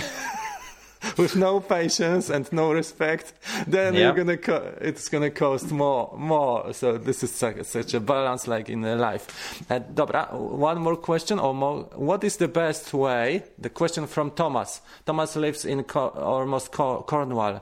A: with no patience and no respect, then yep. you're gonna co- it's gonna cost more, more. So this is such, such a balance like in life. Uh, dobra, one more question or more. What is the best way? The question from Thomas. Thomas lives in Co- almost Co- Cornwall.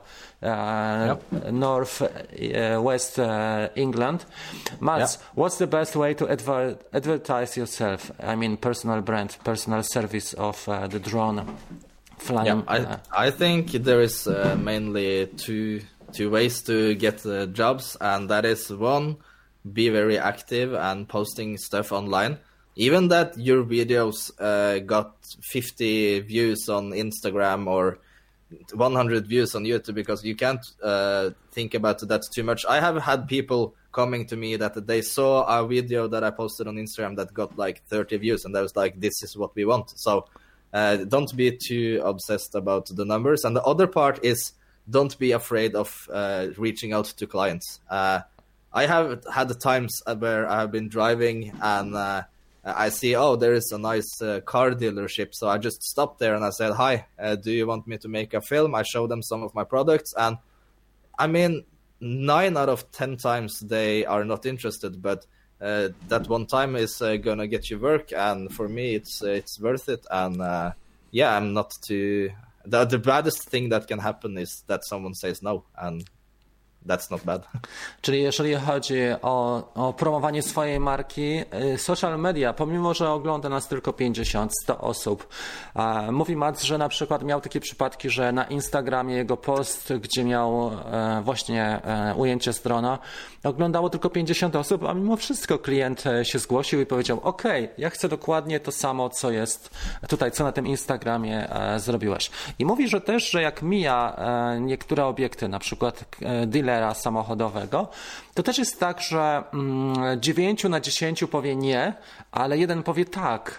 A: Uh, yep. North uh, West uh, England. Mats, yep. what's the best way to adver- advertise yourself? I mean, personal brand, personal service of uh, the drone flying.
B: Yeah, I uh, I think there is uh, mainly two two ways to get uh, jobs, and that is one, be very active and posting stuff online. Even that your videos uh, got fifty views on Instagram or one hundred views on YouTube, because you can't uh, think about that too much. I have had people coming to me that they saw a video that I posted on Instagram that got like thirty views, and I was like, this is what we want. So uh, don't be too obsessed about the numbers. And the other part is, don't be afraid of uh, reaching out to clients. Uh, I have had times where I have been driving and uh, I see, oh, there is a nice uh, car dealership. So I just stopped there and I said, hi, uh, do you want me to make a film? I show them some of my products. And I mean, nine out of ten times they are not interested, but uh, that one time is uh, going to get you work. And for me, it's uh, it's worth it. And uh, yeah, I'm not too... The, the baddest thing that can happen is that someone says no. And that's not bad.
A: Czyli jeżeli chodzi o, o promowanie swojej marki, social media, pomimo że ogląda nas tylko pięćdziesiąt sto osób, mówi Mats, że na przykład miał takie przypadki, że na Instagramie jego post, gdzie miał właśnie ujęcie z drona, oglądało tylko pięćdziesiąt osób, a mimo wszystko klient się zgłosił i powiedział, ok, ja chcę dokładnie to samo, co jest tutaj, co na tym Instagramie zrobiłeś. I mówi, że też, że jak mija niektóre obiekty, na przykład dealer samochodowego, to też jest tak, że dziewięciu na dziesięciu powie nie, ale jeden powie tak.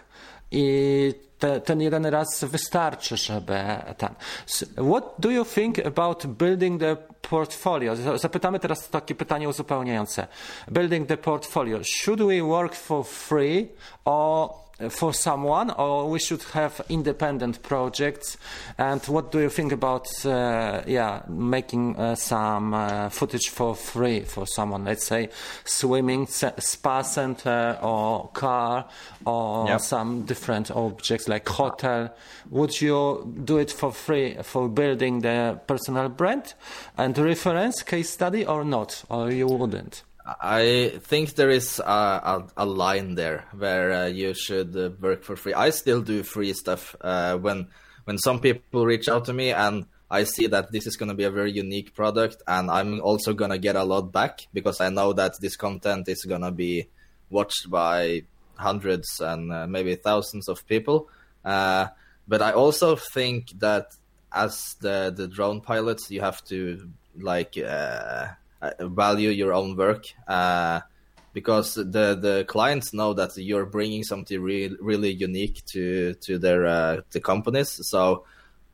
A: I te, ten jeden raz wystarczy, żeby ten. What do you think about building the portfolio? Zapytamy teraz takie pytanie uzupełniające. Building the portfolio. Should we work for free or for someone, or we should have independent projects? And what do you think about uh, yeah making uh, some uh, footage for free for someone, let's say swimming spa center or car or yep. some different objects like hotel? Would you do it for free for building the personal brand and reference case study, or not, or you wouldn't?
B: I think there is a, a, a line there where uh, you should uh, work for free. I still do free stuff uh, when when some people reach out to me and I see that this is going to be a very unique product, and I'm also going to get a lot back because I know that this content is going to be watched by hundreds and uh, maybe thousands of people. Uh, but I also think that as the, the drone pilots, you have to like... Uh, value your own work uh, because the the clients know that you're bringing something really really unique to to their uh, the companies. So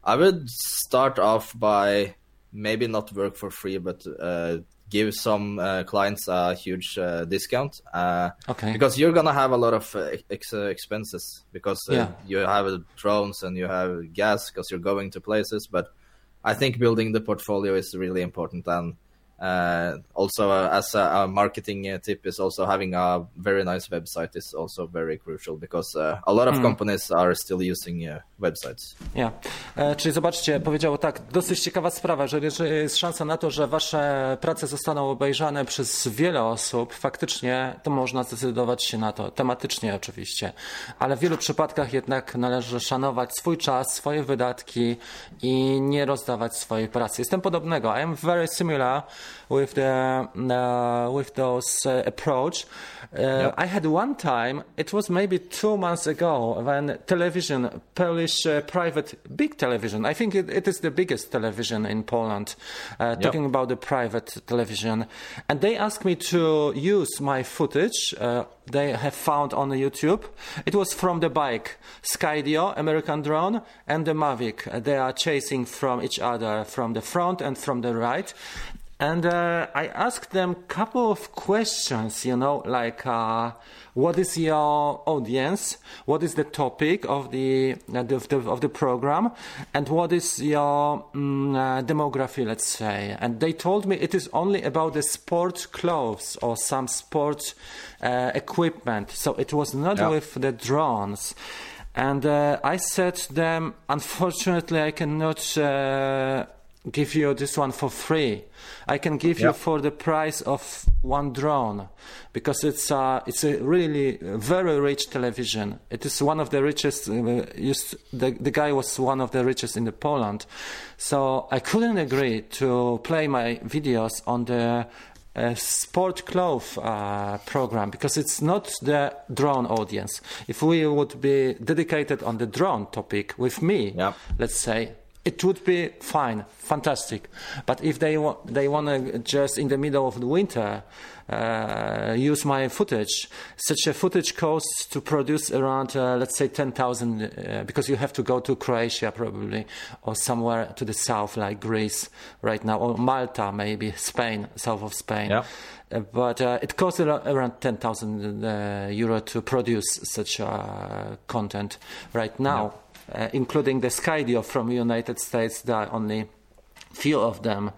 B: I would start off by maybe not work for free, but uh, give some uh, clients a huge uh, discount. Uh,
A: okay.
B: Because you're gonna have a lot of uh, ex- uh, expenses because uh,
A: yeah.
B: you have uh, drones and you have gas because you're going to places. But I think building the portfolio is really important, and uh, also uh, as a, a marketing uh, tip is also having a very nice website is also very crucial because uh, a lot of mm. companies are still using uh, websites.
A: Yeah. E, czyli zobaczcie, powiedział tak, dosyć ciekawa sprawa, że jeżeli jest szansa na to, że wasze prace zostaną obejrzane przez wiele osób, faktycznie to można zdecydować się na to, tematycznie oczywiście, ale w wielu przypadkach jednak należy szanować swój czas, swoje wydatki i nie rozdawać swojej pracy. Jestem podobnego. I am very similar with the uh, with those uh, approach. Uh, yep. I had one time, it was maybe two months ago, when television, Polish uh, private big television, I think it, it is the biggest television in Poland, uh, yep. talking about the private television, and they asked me to use my footage uh, they have found on YouTube. It was from the bike, Skydio, American drone, and the Mavic. They are chasing from each other from the front and from the right. And uh, I asked them a couple of questions, you know, like uh, what is your audience, what is the topic of the uh, of the of the program, and what is your um, uh, demography, let's say. And they told me it is only about the sport clothes or some sport uh, equipment. So it was not yeah. with the drones. And uh, I said to them, unfortunately, I cannot uh, give you this one for free. I can give yep. you for the price of one drone, because it's uh, it's a really very rich television. It is one of the richest. Uh, used, the the guy was one of the richest in the Poland, so I couldn't agree to play my videos on the uh, sport cloth uh, program, because it's not the drone audience. If we would be dedicated on the drone topic with me, yep. let's say, it would be fine, fantastic. But if they wa- they want to just in the middle of the winter uh, use my footage, such a footage costs to produce around, uh, let's say, ten thousand, uh, because you have to go to Croatia probably, or somewhere to the south like Greece right now, or Malta maybe, Spain, south of Spain. Yeah.
B: Uh,
A: but uh, it costs around ten thousand uh, euro to produce such uh, content right now. Yeah. Uh, including the Skydio from United States. There are only few of them,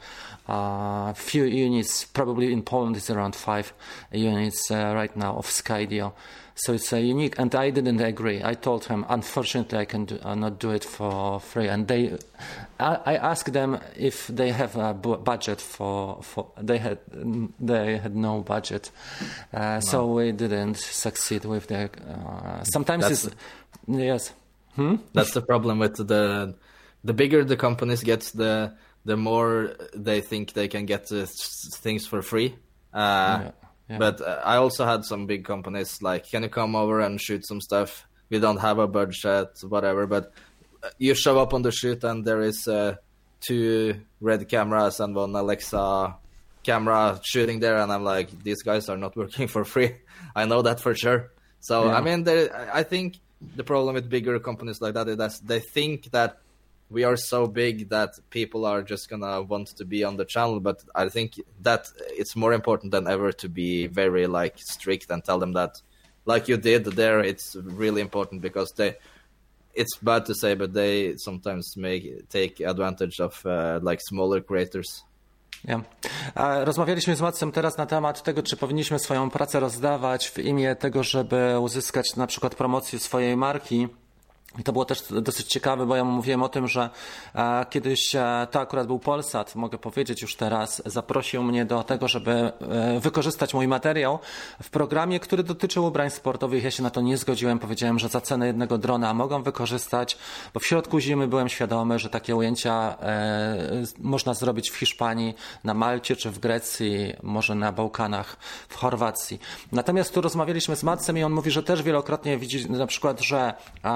A: uh, few units. Probably in Poland it's around five units uh, right now of Skydio. So it's uh, unique, and I didn't agree. I told him, unfortunately, I can do, uh, not do it for free. And they, I, I asked them if they have a bu- budget for, for. They had, they had no budget, uh, no. So we didn't succeed with the. Uh, sometimes That's it's, the- yes. Hmm?
B: That's the problem with the the bigger the companies get, the the more they think they can get the things for free. Uh, yeah, yeah. But uh, I also had some big companies like, can you come over and shoot some stuff? We don't have a budget, whatever. But you show up on the shoot and there is uh, two Red cameras and one Alexa camera shooting there, and I'm like, these guys are not working for free. I know that for sure. So yeah. I mean, I think. The problem with bigger companies like that is that they think that we are so big that people are just gonna want to be on the channel. But I think that it's more important than ever to be very like strict and tell them that, like you did there, it's really important, because they, it's bad to say, but they sometimes make take advantage of uh, like smaller creators.
A: Yeah. Rozmawialiśmy z Macem teraz na temat tego, czy powinniśmy swoją pracę rozdawać w imię tego, żeby uzyskać na przykład promocję swojej marki. I to było też dosyć ciekawe, bo ja mu mówiłem o tym, że e, kiedyś e, to akurat był Polsat, mogę powiedzieć już teraz, zaprosił mnie do tego, żeby e, wykorzystać mój materiał w programie, który dotyczył ubrań sportowych. Ja się na to nie zgodziłem, powiedziałem, że za cenę jednego drona mogą wykorzystać, bo w środku zimy byłem świadomy, że takie ujęcia e, można zrobić w Hiszpanii, na Malcie czy w Grecji, może na Bałkanach, w Chorwacji. Natomiast tu rozmawialiśmy z Macem i on mówi, że też wielokrotnie widzi na przykład, że e, na planie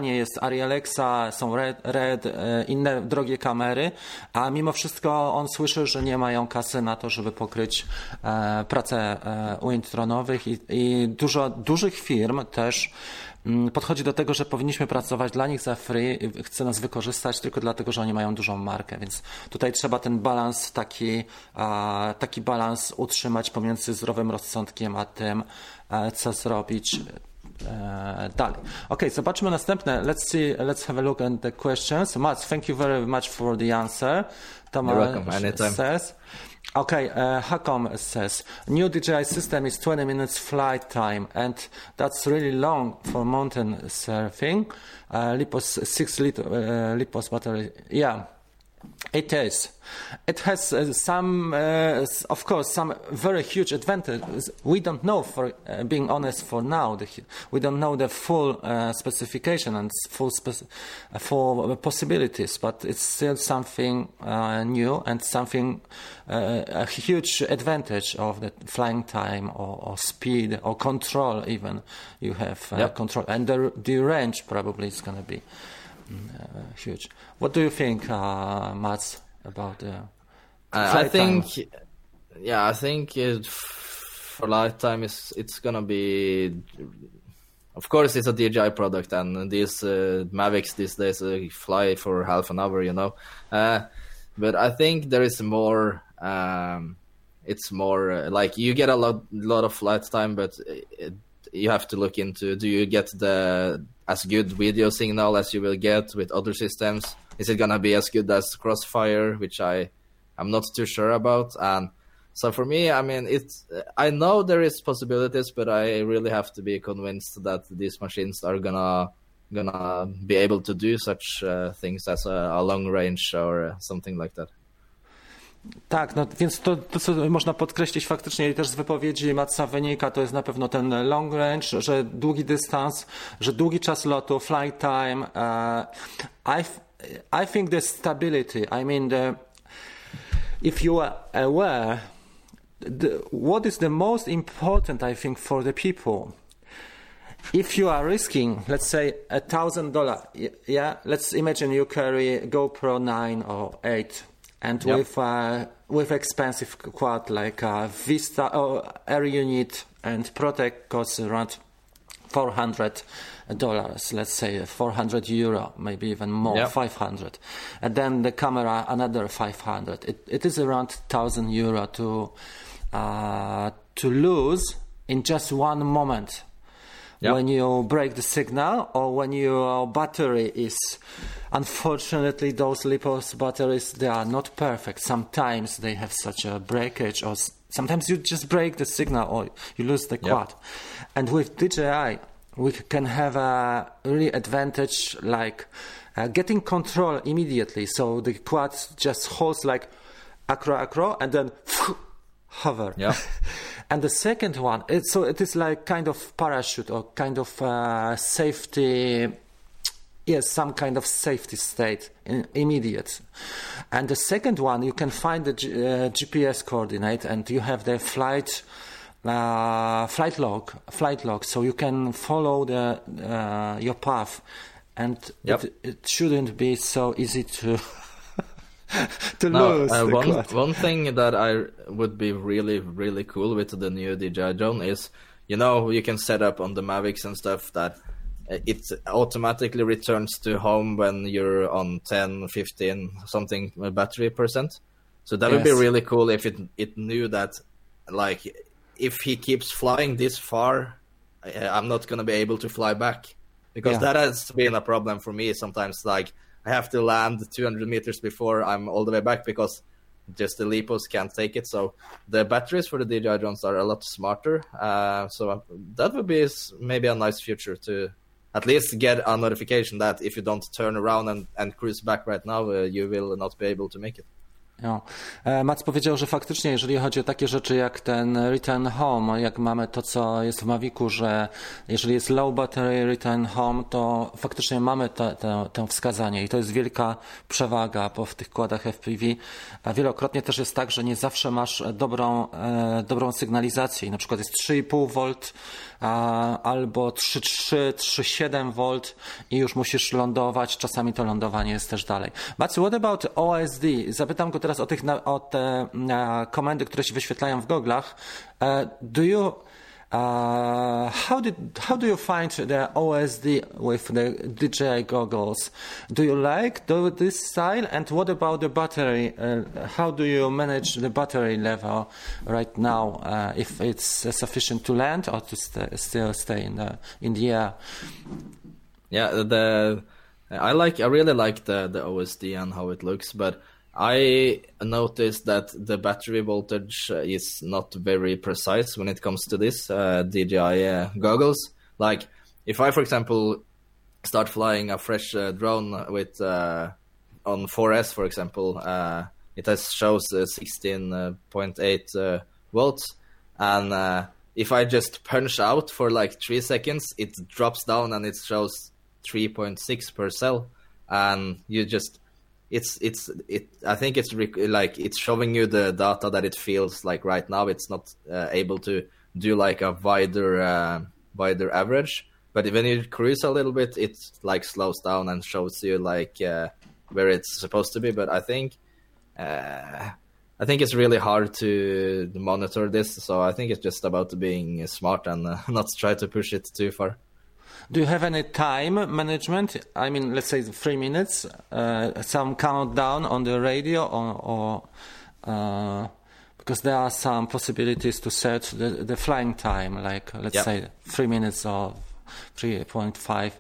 A: ekranie jest Arri Alexa, są Red, Red, inne drogie kamery, a mimo wszystko on słyszy, że nie mają kasy na to, żeby pokryć e, pracę e, Wintronowych i, i dużo dużych firm też podchodzi do tego, że powinniśmy pracować dla nich za free, chce nas wykorzystać tylko dlatego, że oni mają dużą markę, więc tutaj trzeba ten balans taki, taki balans utrzymać pomiędzy zdrowym rozsądkiem a tym, co zrobić dalej. Ok, zobaczmy następne. Let's see, let's have a look at the questions. Mats, thank you very much for the answer. Tomasz says. Okay, uh, Hakom says, new D J I system is twenty minutes flight time, and that's really long for mountain surfing. Uh, Lipos six liter uh, Lipos battery, yeah. It is. It has uh, some, uh, of course, some very huge advantages. We don't know, for uh, being honest, for now. The, we don't know the full uh, specification and full spec- uh, full possibilities, but it's still something uh, new and something, uh, a huge advantage of the flying time or, or speed or control even. You have uh, yep. control. And the, the range probably is going to be Uh, huge. What do you think, uh, Mats, about the uh,
B: I think,
A: time?
B: yeah, I think it, for lifetime is it's gonna be. Of course, it's a D J I product, and these uh, Mavics these days uh, fly for half an hour, you know. Uh, but I think there is more. Um, it's more uh, like you get a lot, lot of flight time, but it, you have to look into: do you get the as good video signal as you will get with other systems? Is it gonna be as good as Crossfire, which I I'm not too sure about? And so for me, I mean, it's I know there is possibilities, but I really have to be convinced that these machines are gonna gonna be able to do such uh, things as a, a long range or something like that.
A: Tak, no więc to, to, co można podkreślić faktycznie i też z wypowiedzi Matsa wynika, to jest na pewno ten long range, że długi dystans, że długi czas lotu, flight time. Uh, I, I think the stability, I mean, the, if you are aware, the, what is the most important, I think, for the people? If you are risking, let's say, a thousand dollar, yeah, let's imagine you carry GoPro nine or eight. And yep. with uh, with expensive quad like uh, Vista or Air Unit and Protect costs around four hundred dollars, let's say four hundred euro, maybe even more, yep. five hundred. And then the camera another five hundred. It it is around thousand euro to uh, to lose in just one moment. Yep. When you break the signal or when your battery is, unfortunately, those Lipos batteries, they are not perfect. Sometimes they have such a breakage, or sometimes you just break the signal or you lose the quad. Yep. And with D J I, we can have a really advantage like uh, getting control immediately. So the quad just holds like acro acro and then hover.
B: Yeah.
A: And the second one, it, so it is like kind of parachute or kind of uh, safety, yes, some kind of safety state, in, immediate. And the second one, you can find the G, uh, G P S coordinate and you have the flight uh, flight log, flight log, so you can follow the uh, your path, and
B: yep.
A: it, it shouldn't be so easy to. to
B: no,
A: lose
B: uh,
A: the
B: one,
A: quad.
B: one thing that I would be really, really cool with the new D J I drone is, you know, you can set up on the Mavics and stuff that it automatically returns to home when you're on ten, fifteen, something battery percent. So that yes. would be really cool if it it knew that, like, if he keeps flying this far, I'm not going to be able to fly back. Because yeah. that has been a problem for me sometimes, like, I have to land two hundred meters before I'm all the way back because just the Lipos can't take it. So the batteries for the D J I drones are a lot smarter. Uh, so that would be maybe a nice future to at least get a notification that if you don't turn around and, and cruise back right now, uh, you will not be able to make it.
A: No. Mats powiedział, że faktycznie jeżeli chodzi o takie rzeczy jak ten return home, jak mamy to, co jest w Mavicu, że jeżeli jest low battery return home, to faktycznie mamy to, to, to wskazanie i to jest wielka przewaga po w tych kładach F P V. A wielokrotnie też jest tak, że nie zawsze masz dobrą, e, dobrą sygnalizację i na przykład jest trzy i pół wolt albo trzy trzy, trzy siedem V i już musisz lądować, czasami to lądowanie jest też dalej. But what about O S D? Zapytam go teraz o, tych, o te komendy, które się wyświetlają w goglach. Do you Uh, how did how do you find the O S D with the D J I goggles? Do you like do this style? And what about the battery? Uh, how do you manage the battery level right now? Uh, if it's uh, sufficient to land or to st- still stay in the in the air?
B: Yeah, the I like I really like the the O S D and how it looks, but I noticed that the battery voltage is not very precise when it comes to this uh, D J I uh, goggles. Like, if I, for example, start flying a fresh uh, drone with uh, on four S, for example, uh, it has shows uh, sixteen point eight uh, volts, and uh, if I just punch out for like three seconds, it drops down and it shows three point six per cell, and you just It's it's it. I think it's rec- like it's showing you the data that it feels like right now. It's not uh, able to do like a wider uh, wider average. But when you cruise a little bit, it like slows down and shows you like uh, where it's supposed to be. But I think uh, I think it's really hard to monitor this. So I think it's just about being smart and uh, not try to push it too far.
A: Do you have any time management? I mean, let's say three minutes, uh, some countdown on the radio, or, or uh, because there are some possibilities to set the, the flying time, like let's yep. say three minutes or three point five,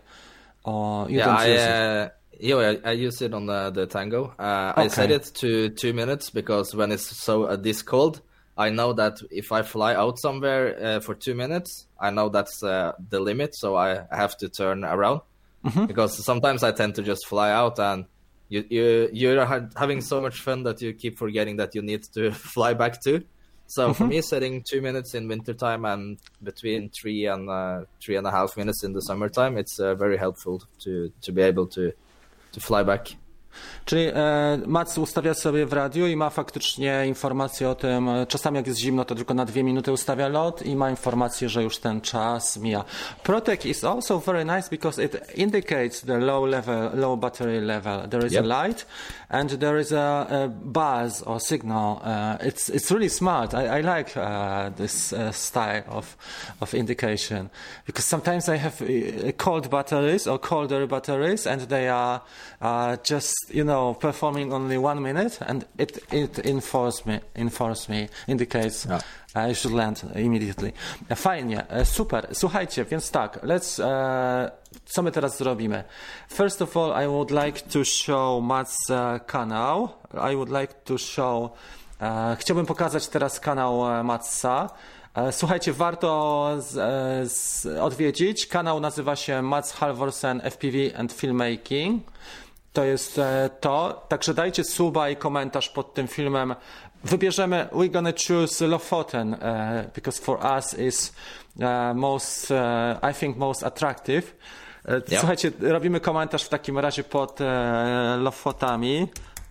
A: or you
B: yeah,
A: don't
B: I,
A: use
B: uh, it. Yeah, I, I use it on the, the Tango. Uh, okay. I set it to two minutes because when it's so uh, this cold, I know that if I fly out somewhere uh, for two minutes, I know that's uh, the limit, so I have to turn around. Mm-hmm. Because sometimes I tend to just fly out and you, you, you're ha- having so much fun that you keep forgetting that you need to fly back too. So mm-hmm. for me, setting two minutes in wintertime and between three and uh, three and a half minutes in the summertime, it's uh, very helpful to, to be able to, to fly back.
A: Czyli e, Mats ustawia sobie w radiu i ma faktycznie informację o tym, czasami jak jest zimno, to tylko na dwie minuty ustawia lot i ma informację, że już ten czas mija. Protec is also very nice because it indicates the low level, low battery level. There is yep. a light and there is a, a buzz or signal. Uh, it's it's really smart. I, I like uh, this uh, style of of indication because sometimes I have uh, cold batteries or colder batteries and they are uh, just you know, performing only one minute, and it it informs me, informs me, indicates yeah. I should land immediately. Fajnie, super. Słuchajcie, więc tak, let's. Uh, co my teraz zrobimy? First of all, I would like to show Mats uh, kanał. I would like to show. Uh, chciałbym pokazać teraz kanał uh, Matsa. Słuchajcie, warto z, z, odwiedzić. Kanał nazywa się Mats Halvorsen F P V and Filmmaking. To jest to. Także dajcie suba i komentarz pod tym filmem. Wybierzemy, we're gonna choose Lofoten, uh, because for us is uh, most, uh, I think most attractive. Uh, yep. Słuchajcie, robimy komentarz w takim razie pod uh, Lofotami.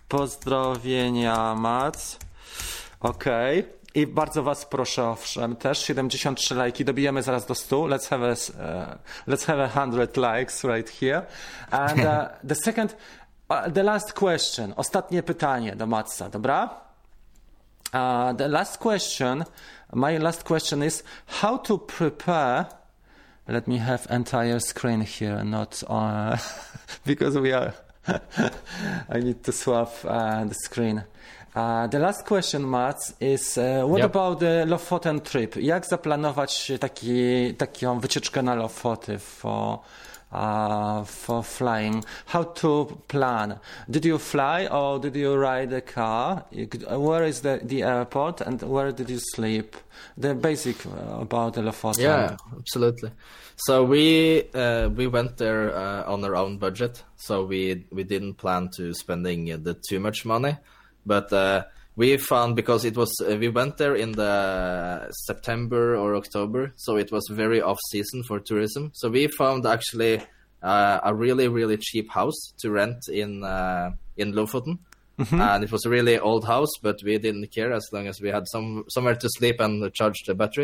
A: Pozdrowienia, Mats. Okej. Okay. I bardzo was proszę, owszem, też siedemdziesiąt trzy lajki, dobijemy zaraz do stu. Let's have a, uh, let's have a hundred likes right here. And uh, the second, uh, the last question, ostatnie pytanie do Matsa, dobra? Uh, the last question, my last question is how to prepare. Let me have entire screen here, not uh, because we are. I need to swap uh, the screen. Uh, the last question, Mats, is uh, what yep. about the Lofoten trip? Jak zaplanować taki, taką wycieczkę na Lofoty for, uh, for flying? How to plan? Did you fly or did you ride a car? Where is the, the airport and where did you sleep? The basic about the Lofoten.
B: Yeah, absolutely. So we uh, we went there uh, on our own budget. So we we didn't plan to spending the too much money. But uh, we found, because it was, uh, we went there in the September or October, so it was very off season for tourism. So we found actually uh, a really, really cheap house to rent in uh, in Lofoten. Mm-hmm. And it was a really old house, but we didn't care as long as we had some somewhere to sleep and charge the batteries.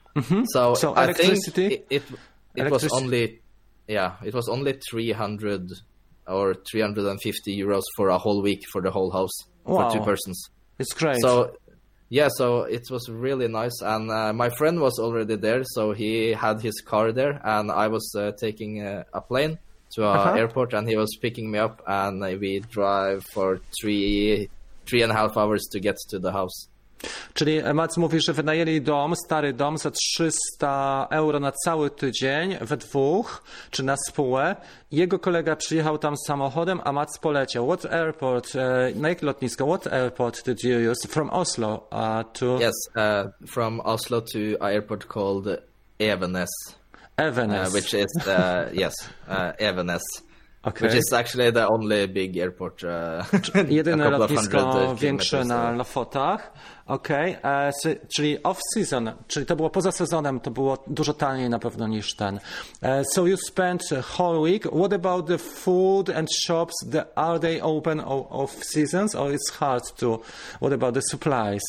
A: Mm-hmm.
B: So,
A: so
B: I
A: electricity,
B: think it it, it was only yeah it was only three hundred or three hundred fifty euros for a whole week for the whole house
A: wow.
B: for two persons.
A: It's great.
B: So yeah, so it was really nice, and uh, my friend was already there, so he had his car there, and I was uh, taking uh, a plane to an uh-huh. airport, and he was picking me up, and uh, we drive for three three and a half hours to get to the house.
A: Czyli Mats mówi, że wynajęli dom, stary dom za trzysta euro na cały tydzień we dwóch, czy na spółę. Jego kolega przyjechał tam samochodem, a Mats poleciał. What airport, uh, na jakie lotnisko, what airport did you use? From Oslo uh, to...
B: Yes, uh, from Oslo to an airport called Evenes.
A: Evenes.
B: Uh, which is, uh, yes, uh, Evenes.
A: Okay.
B: Which is actually the only big airport. Uh,
A: Jedyne lotnisko większe na Lofotach. Okej, okay. so, czyli off-season, czyli to było poza sezonem, to było dużo taniej na pewno niż ten. Uh, so you spent a whole week. What about the food and shops? The, are they open off-seasons or it's hard to? What about the supplies?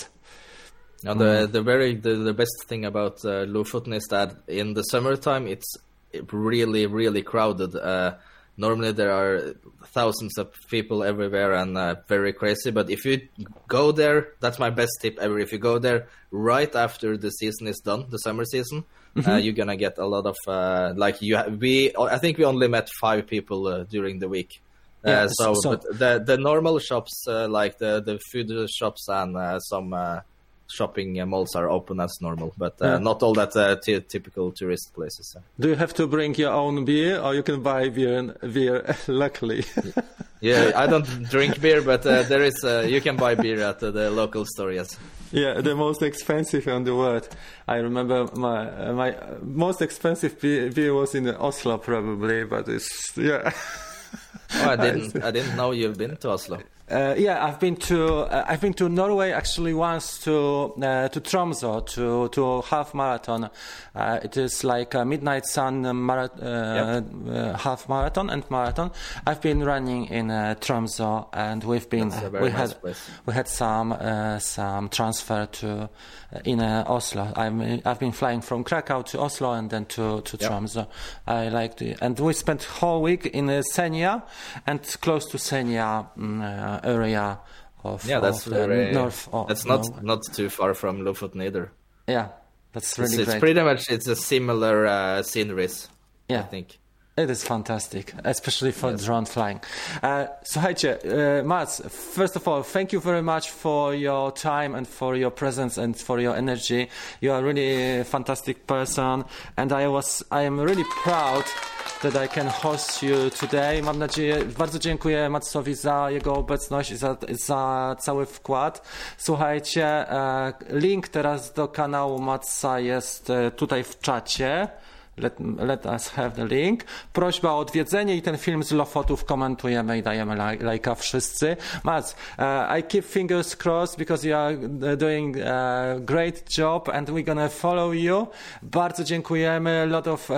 B: No, the the very the, the best thing about uh, Lofoten is that in the summertime it's really really crowded. Uh, Normally there are thousands of people everywhere and uh, very crazy. But if you go there, that's my best tip ever. If you go there right after the season is done, the summer season, mm-hmm. uh, you're gonna get a lot of uh, like you. Ha- we I think we only met five people uh, during the week.
A: Yeah,
B: uh, so,
A: so
B: but the the normal shops uh, like the the food shops and uh, some. Uh, shopping uh, malls are open as normal, but uh, yeah. not all that uh, t- typical tourist places.
A: Do you have to bring your own beer, or you can buy beer? Beer, luckily.
B: Yeah, I don't drink beer, but uh, there is uh, you can buy beer at uh, the local store. Yes.
A: Yeah, the most expensive in the world. I remember my uh, my most expensive beer, beer was in Oslo, probably, but it's yeah.
B: Oh, I didn't. I didn't know you've been to Oslo.
A: Uh, yeah, I've been to uh, I've been to Norway actually once to uh, to Tromsø to to half marathon. Uh, it is like a Midnight Sun mara- uh, yep. uh, half marathon and marathon. I've been running in uh, Tromsø, and we've been
B: That's a very
A: we
B: nice
A: had
B: place.
A: we had some uh, some transfer to uh, in uh, Oslo. I'm I've been flying from Krakow to Oslo and then to to yep. Tromsø. I liked it, and we spent whole week in uh, Senja and close to Senja. Um, uh, area of
B: yeah that's
A: of
B: very
A: north of
B: that's not
A: Norway.
B: not too far from Lofoten either.
A: Yeah, that's really
B: it's,
A: great.
B: It's pretty much it's a similar uh, sceneries.
A: Yeah,
B: I think
A: it is fantastic, especially for
B: yes.
A: drone flying. Uh, słuchajcie, uh, Mats, first of all, thank you very much for your time and for your presence and for your energy. You are really a fantastic person, and I was I am really proud that I can host you today. Mam nadzieję, bardzo dziękuję Matsowi za jego obecność i za, za cały wkład. Słuchajcie, e, link teraz do kanału Matsa jest e, tutaj w czacie. Let, let us have the link. Prośba o odwiedzenie i ten film z Lofotów komentujemy i dajemy laj, lajka wszyscy. Mats, uh, I keep fingers crossed because you are doing a great job and we're gonna follow you. Bardzo dziękujemy. A lot of uh,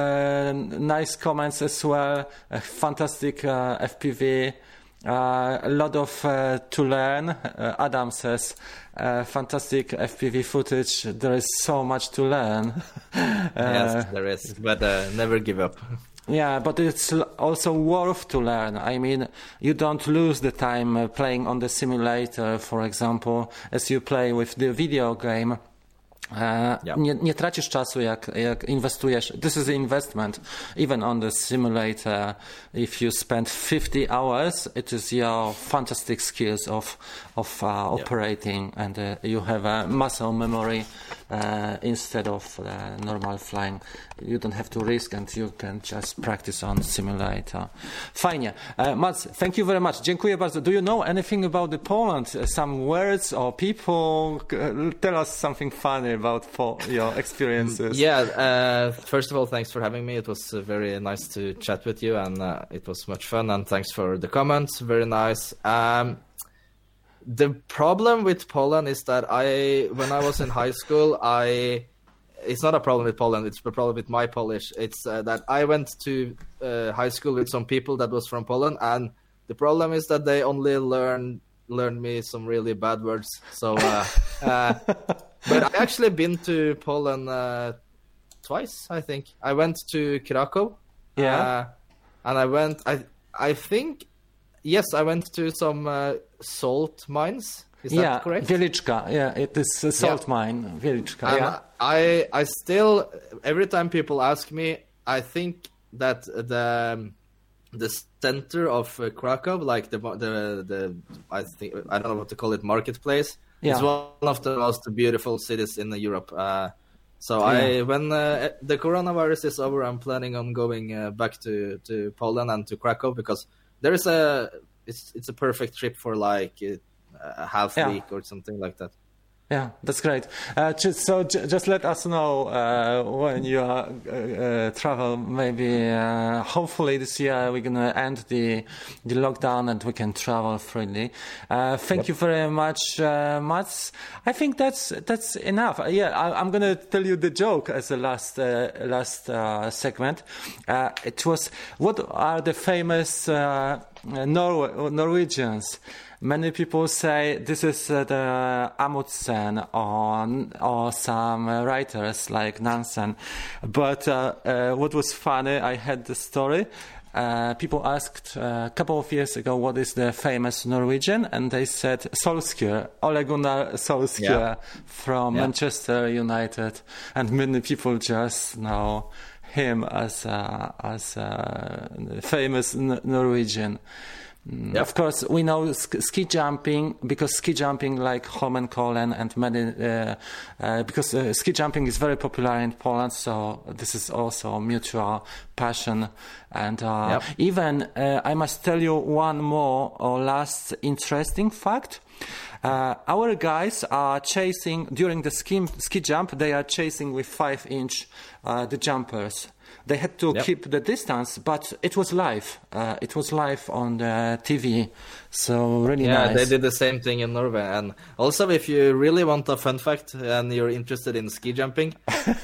A: nice comments as well. Uh, fantastic uh, F P V. Uh, a lot of uh, to learn. Uh, Adam says, uh, fantastic F P V footage. There is so much to learn. uh,
B: yes, there is, but uh, never give up.
A: Yeah, but it's also worth to learn. I mean, you don't lose the time uh, playing on the simulator, for example, as you play with the video game. Uh,
B: yeah.
A: nie, nie tracisz czasu, jak, jak inwestujesz. This is an investment. Even on the simulator, if you spend fifty hours, it is your fantastic skills of of uh, yeah. operating, and uh, you have a muscle memory uh, instead of uh, normal flying. You don't have to risk, and you can just practice on simulator. Fajnie. Uh, Mats, thank you very much. Dziękuję bardzo. Do you know anything about the Poland? Uh, some words or people? Uh, tell us something funny about po- your experiences.
B: Yeah, uh, first of all, thanks for having me. It was uh, very nice to chat with you, and uh, it was much fun, and thanks for the comments. Very nice. Um, the problem with Poland is that I, when I was in high school, I, it's not a problem with Poland, it's a problem with my Polish. It's uh, that I went to uh, high school with some people that was from Poland, and the problem is that they only learn learned me some really bad words. So, uh, uh, but I actually been to Poland uh, twice, I think. I went to Krakow.
A: Yeah.
B: Uh, and I went, I I think, yes, I went to some uh, salt mines. Is
A: yeah,
B: that correct?
A: Wieliczka. Yeah, it is a salt yeah. mine. Wieliczka.
B: And
A: yeah.
B: I, I still, every time people ask me, I think that the the center of uh, Krakow, like the the the I think I don't know what to call it, marketplace, yeah. is one of the most beautiful cities in Europe. Uh, so yeah. I, when uh, the coronavirus is over, I'm planning on going uh, back to, to Poland and to Krakow, because there is a it's it's a perfect trip for like a half yeah. week or something like that.
A: Yeah, that's great. Uh, just, so j- just let us know uh, when you uh, uh, travel. Maybe, uh, hopefully this year we're gonna end the the lockdown and we can travel freely. Uh, thank yep. you very much, uh, Mats. I think that's that's enough. Uh, yeah, I, I'm gonna tell you the joke as the last uh, last uh, segment. Uh, it was, what are the famous uh, Nor- Norwegians? Many people say this is uh, the Amundsen or, or some uh, writers like Nansen. But uh, uh, what was funny, I had the story. Uh, people asked uh, a couple of years ago what is the famous Norwegian, and they said Solskjaer, Ole Gunnar Solskjaer yeah. from yeah. Manchester United, and many people just know him as a, as a famous N- Norwegian. Yep. Of course, we know sk- ski jumping, because ski jumping, like Holmenkollen and many, uh, uh, because uh, ski jumping is very popular in Poland, so this is also a mutual passion. And uh, yep. even, uh, I must tell you one more or last interesting fact. Uh, our guys are chasing, during the ski, ski jump, they are chasing with five inch uh, the jumpers. They had to yep. keep the distance, but it was live. Uh, it was live on the T V, so really
B: yeah,
A: nice.
B: Yeah, they did the same thing in Norway. And also, if you really want a fun fact and you're interested in ski jumping,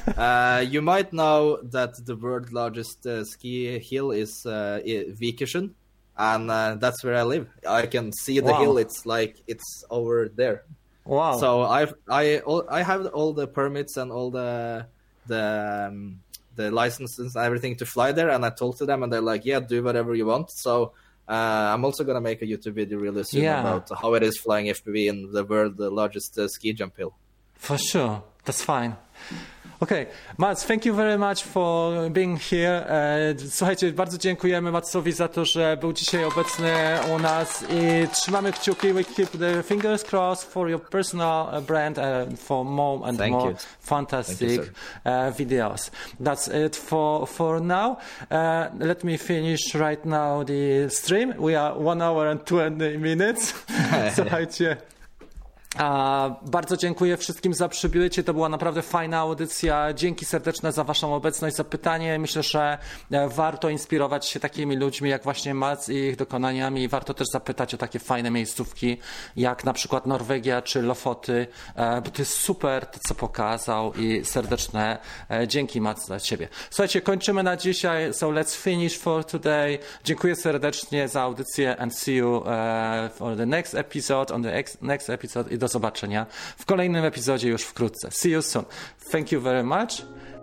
B: uh, you might know that the world's largest uh, ski hill is uh, Vikersund, and uh, that's where I live. I can see the wow. hill. It's like it's over there.
A: Wow!
B: So I I I have all the permits and all the the. Um, the licenses and everything to fly there, and I talked to them and they're like, yeah, do whatever you want. So uh, I'm also going to make a YouTube video really soon yeah. about how it is flying F P V in the world, the largest uh, ski jump hill.
A: For sure, that's fine. Okay, Mats, thank you very much for being here. Słuchajcie, bardzo dziękujemy Matsowi za to, że był dzisiaj obecny u nas i trzymamy kciuki. We keep the fingers crossed for your personal brand and for more and
B: thank
A: more
B: you.
A: fantastic
B: you,
A: uh, videos. That's it for for now. Uh, let me finish right now the stream. We are one hour and twenty minutes. Słuchajcie. A, bardzo dziękuję wszystkim za przybycie. To była naprawdę fajna audycja. Dzięki serdeczne za waszą obecność, za pytanie. Myślę, że warto inspirować się takimi ludźmi jak właśnie Mats i ich dokonaniami. Warto też zapytać o takie fajne miejscówki jak na przykład Norwegia czy Lofoty, bo to jest super to, co pokazał, i serdeczne dzięki, Mats, dla ciebie. Słuchajcie, kończymy na dzisiaj. So let's finish for today. Dziękuję serdecznie za audycję and see you uh, for the next episode, on the ex- next episode. Do zobaczenia w kolejnym epizodzie już wkrótce. See you soon. Thank you very much.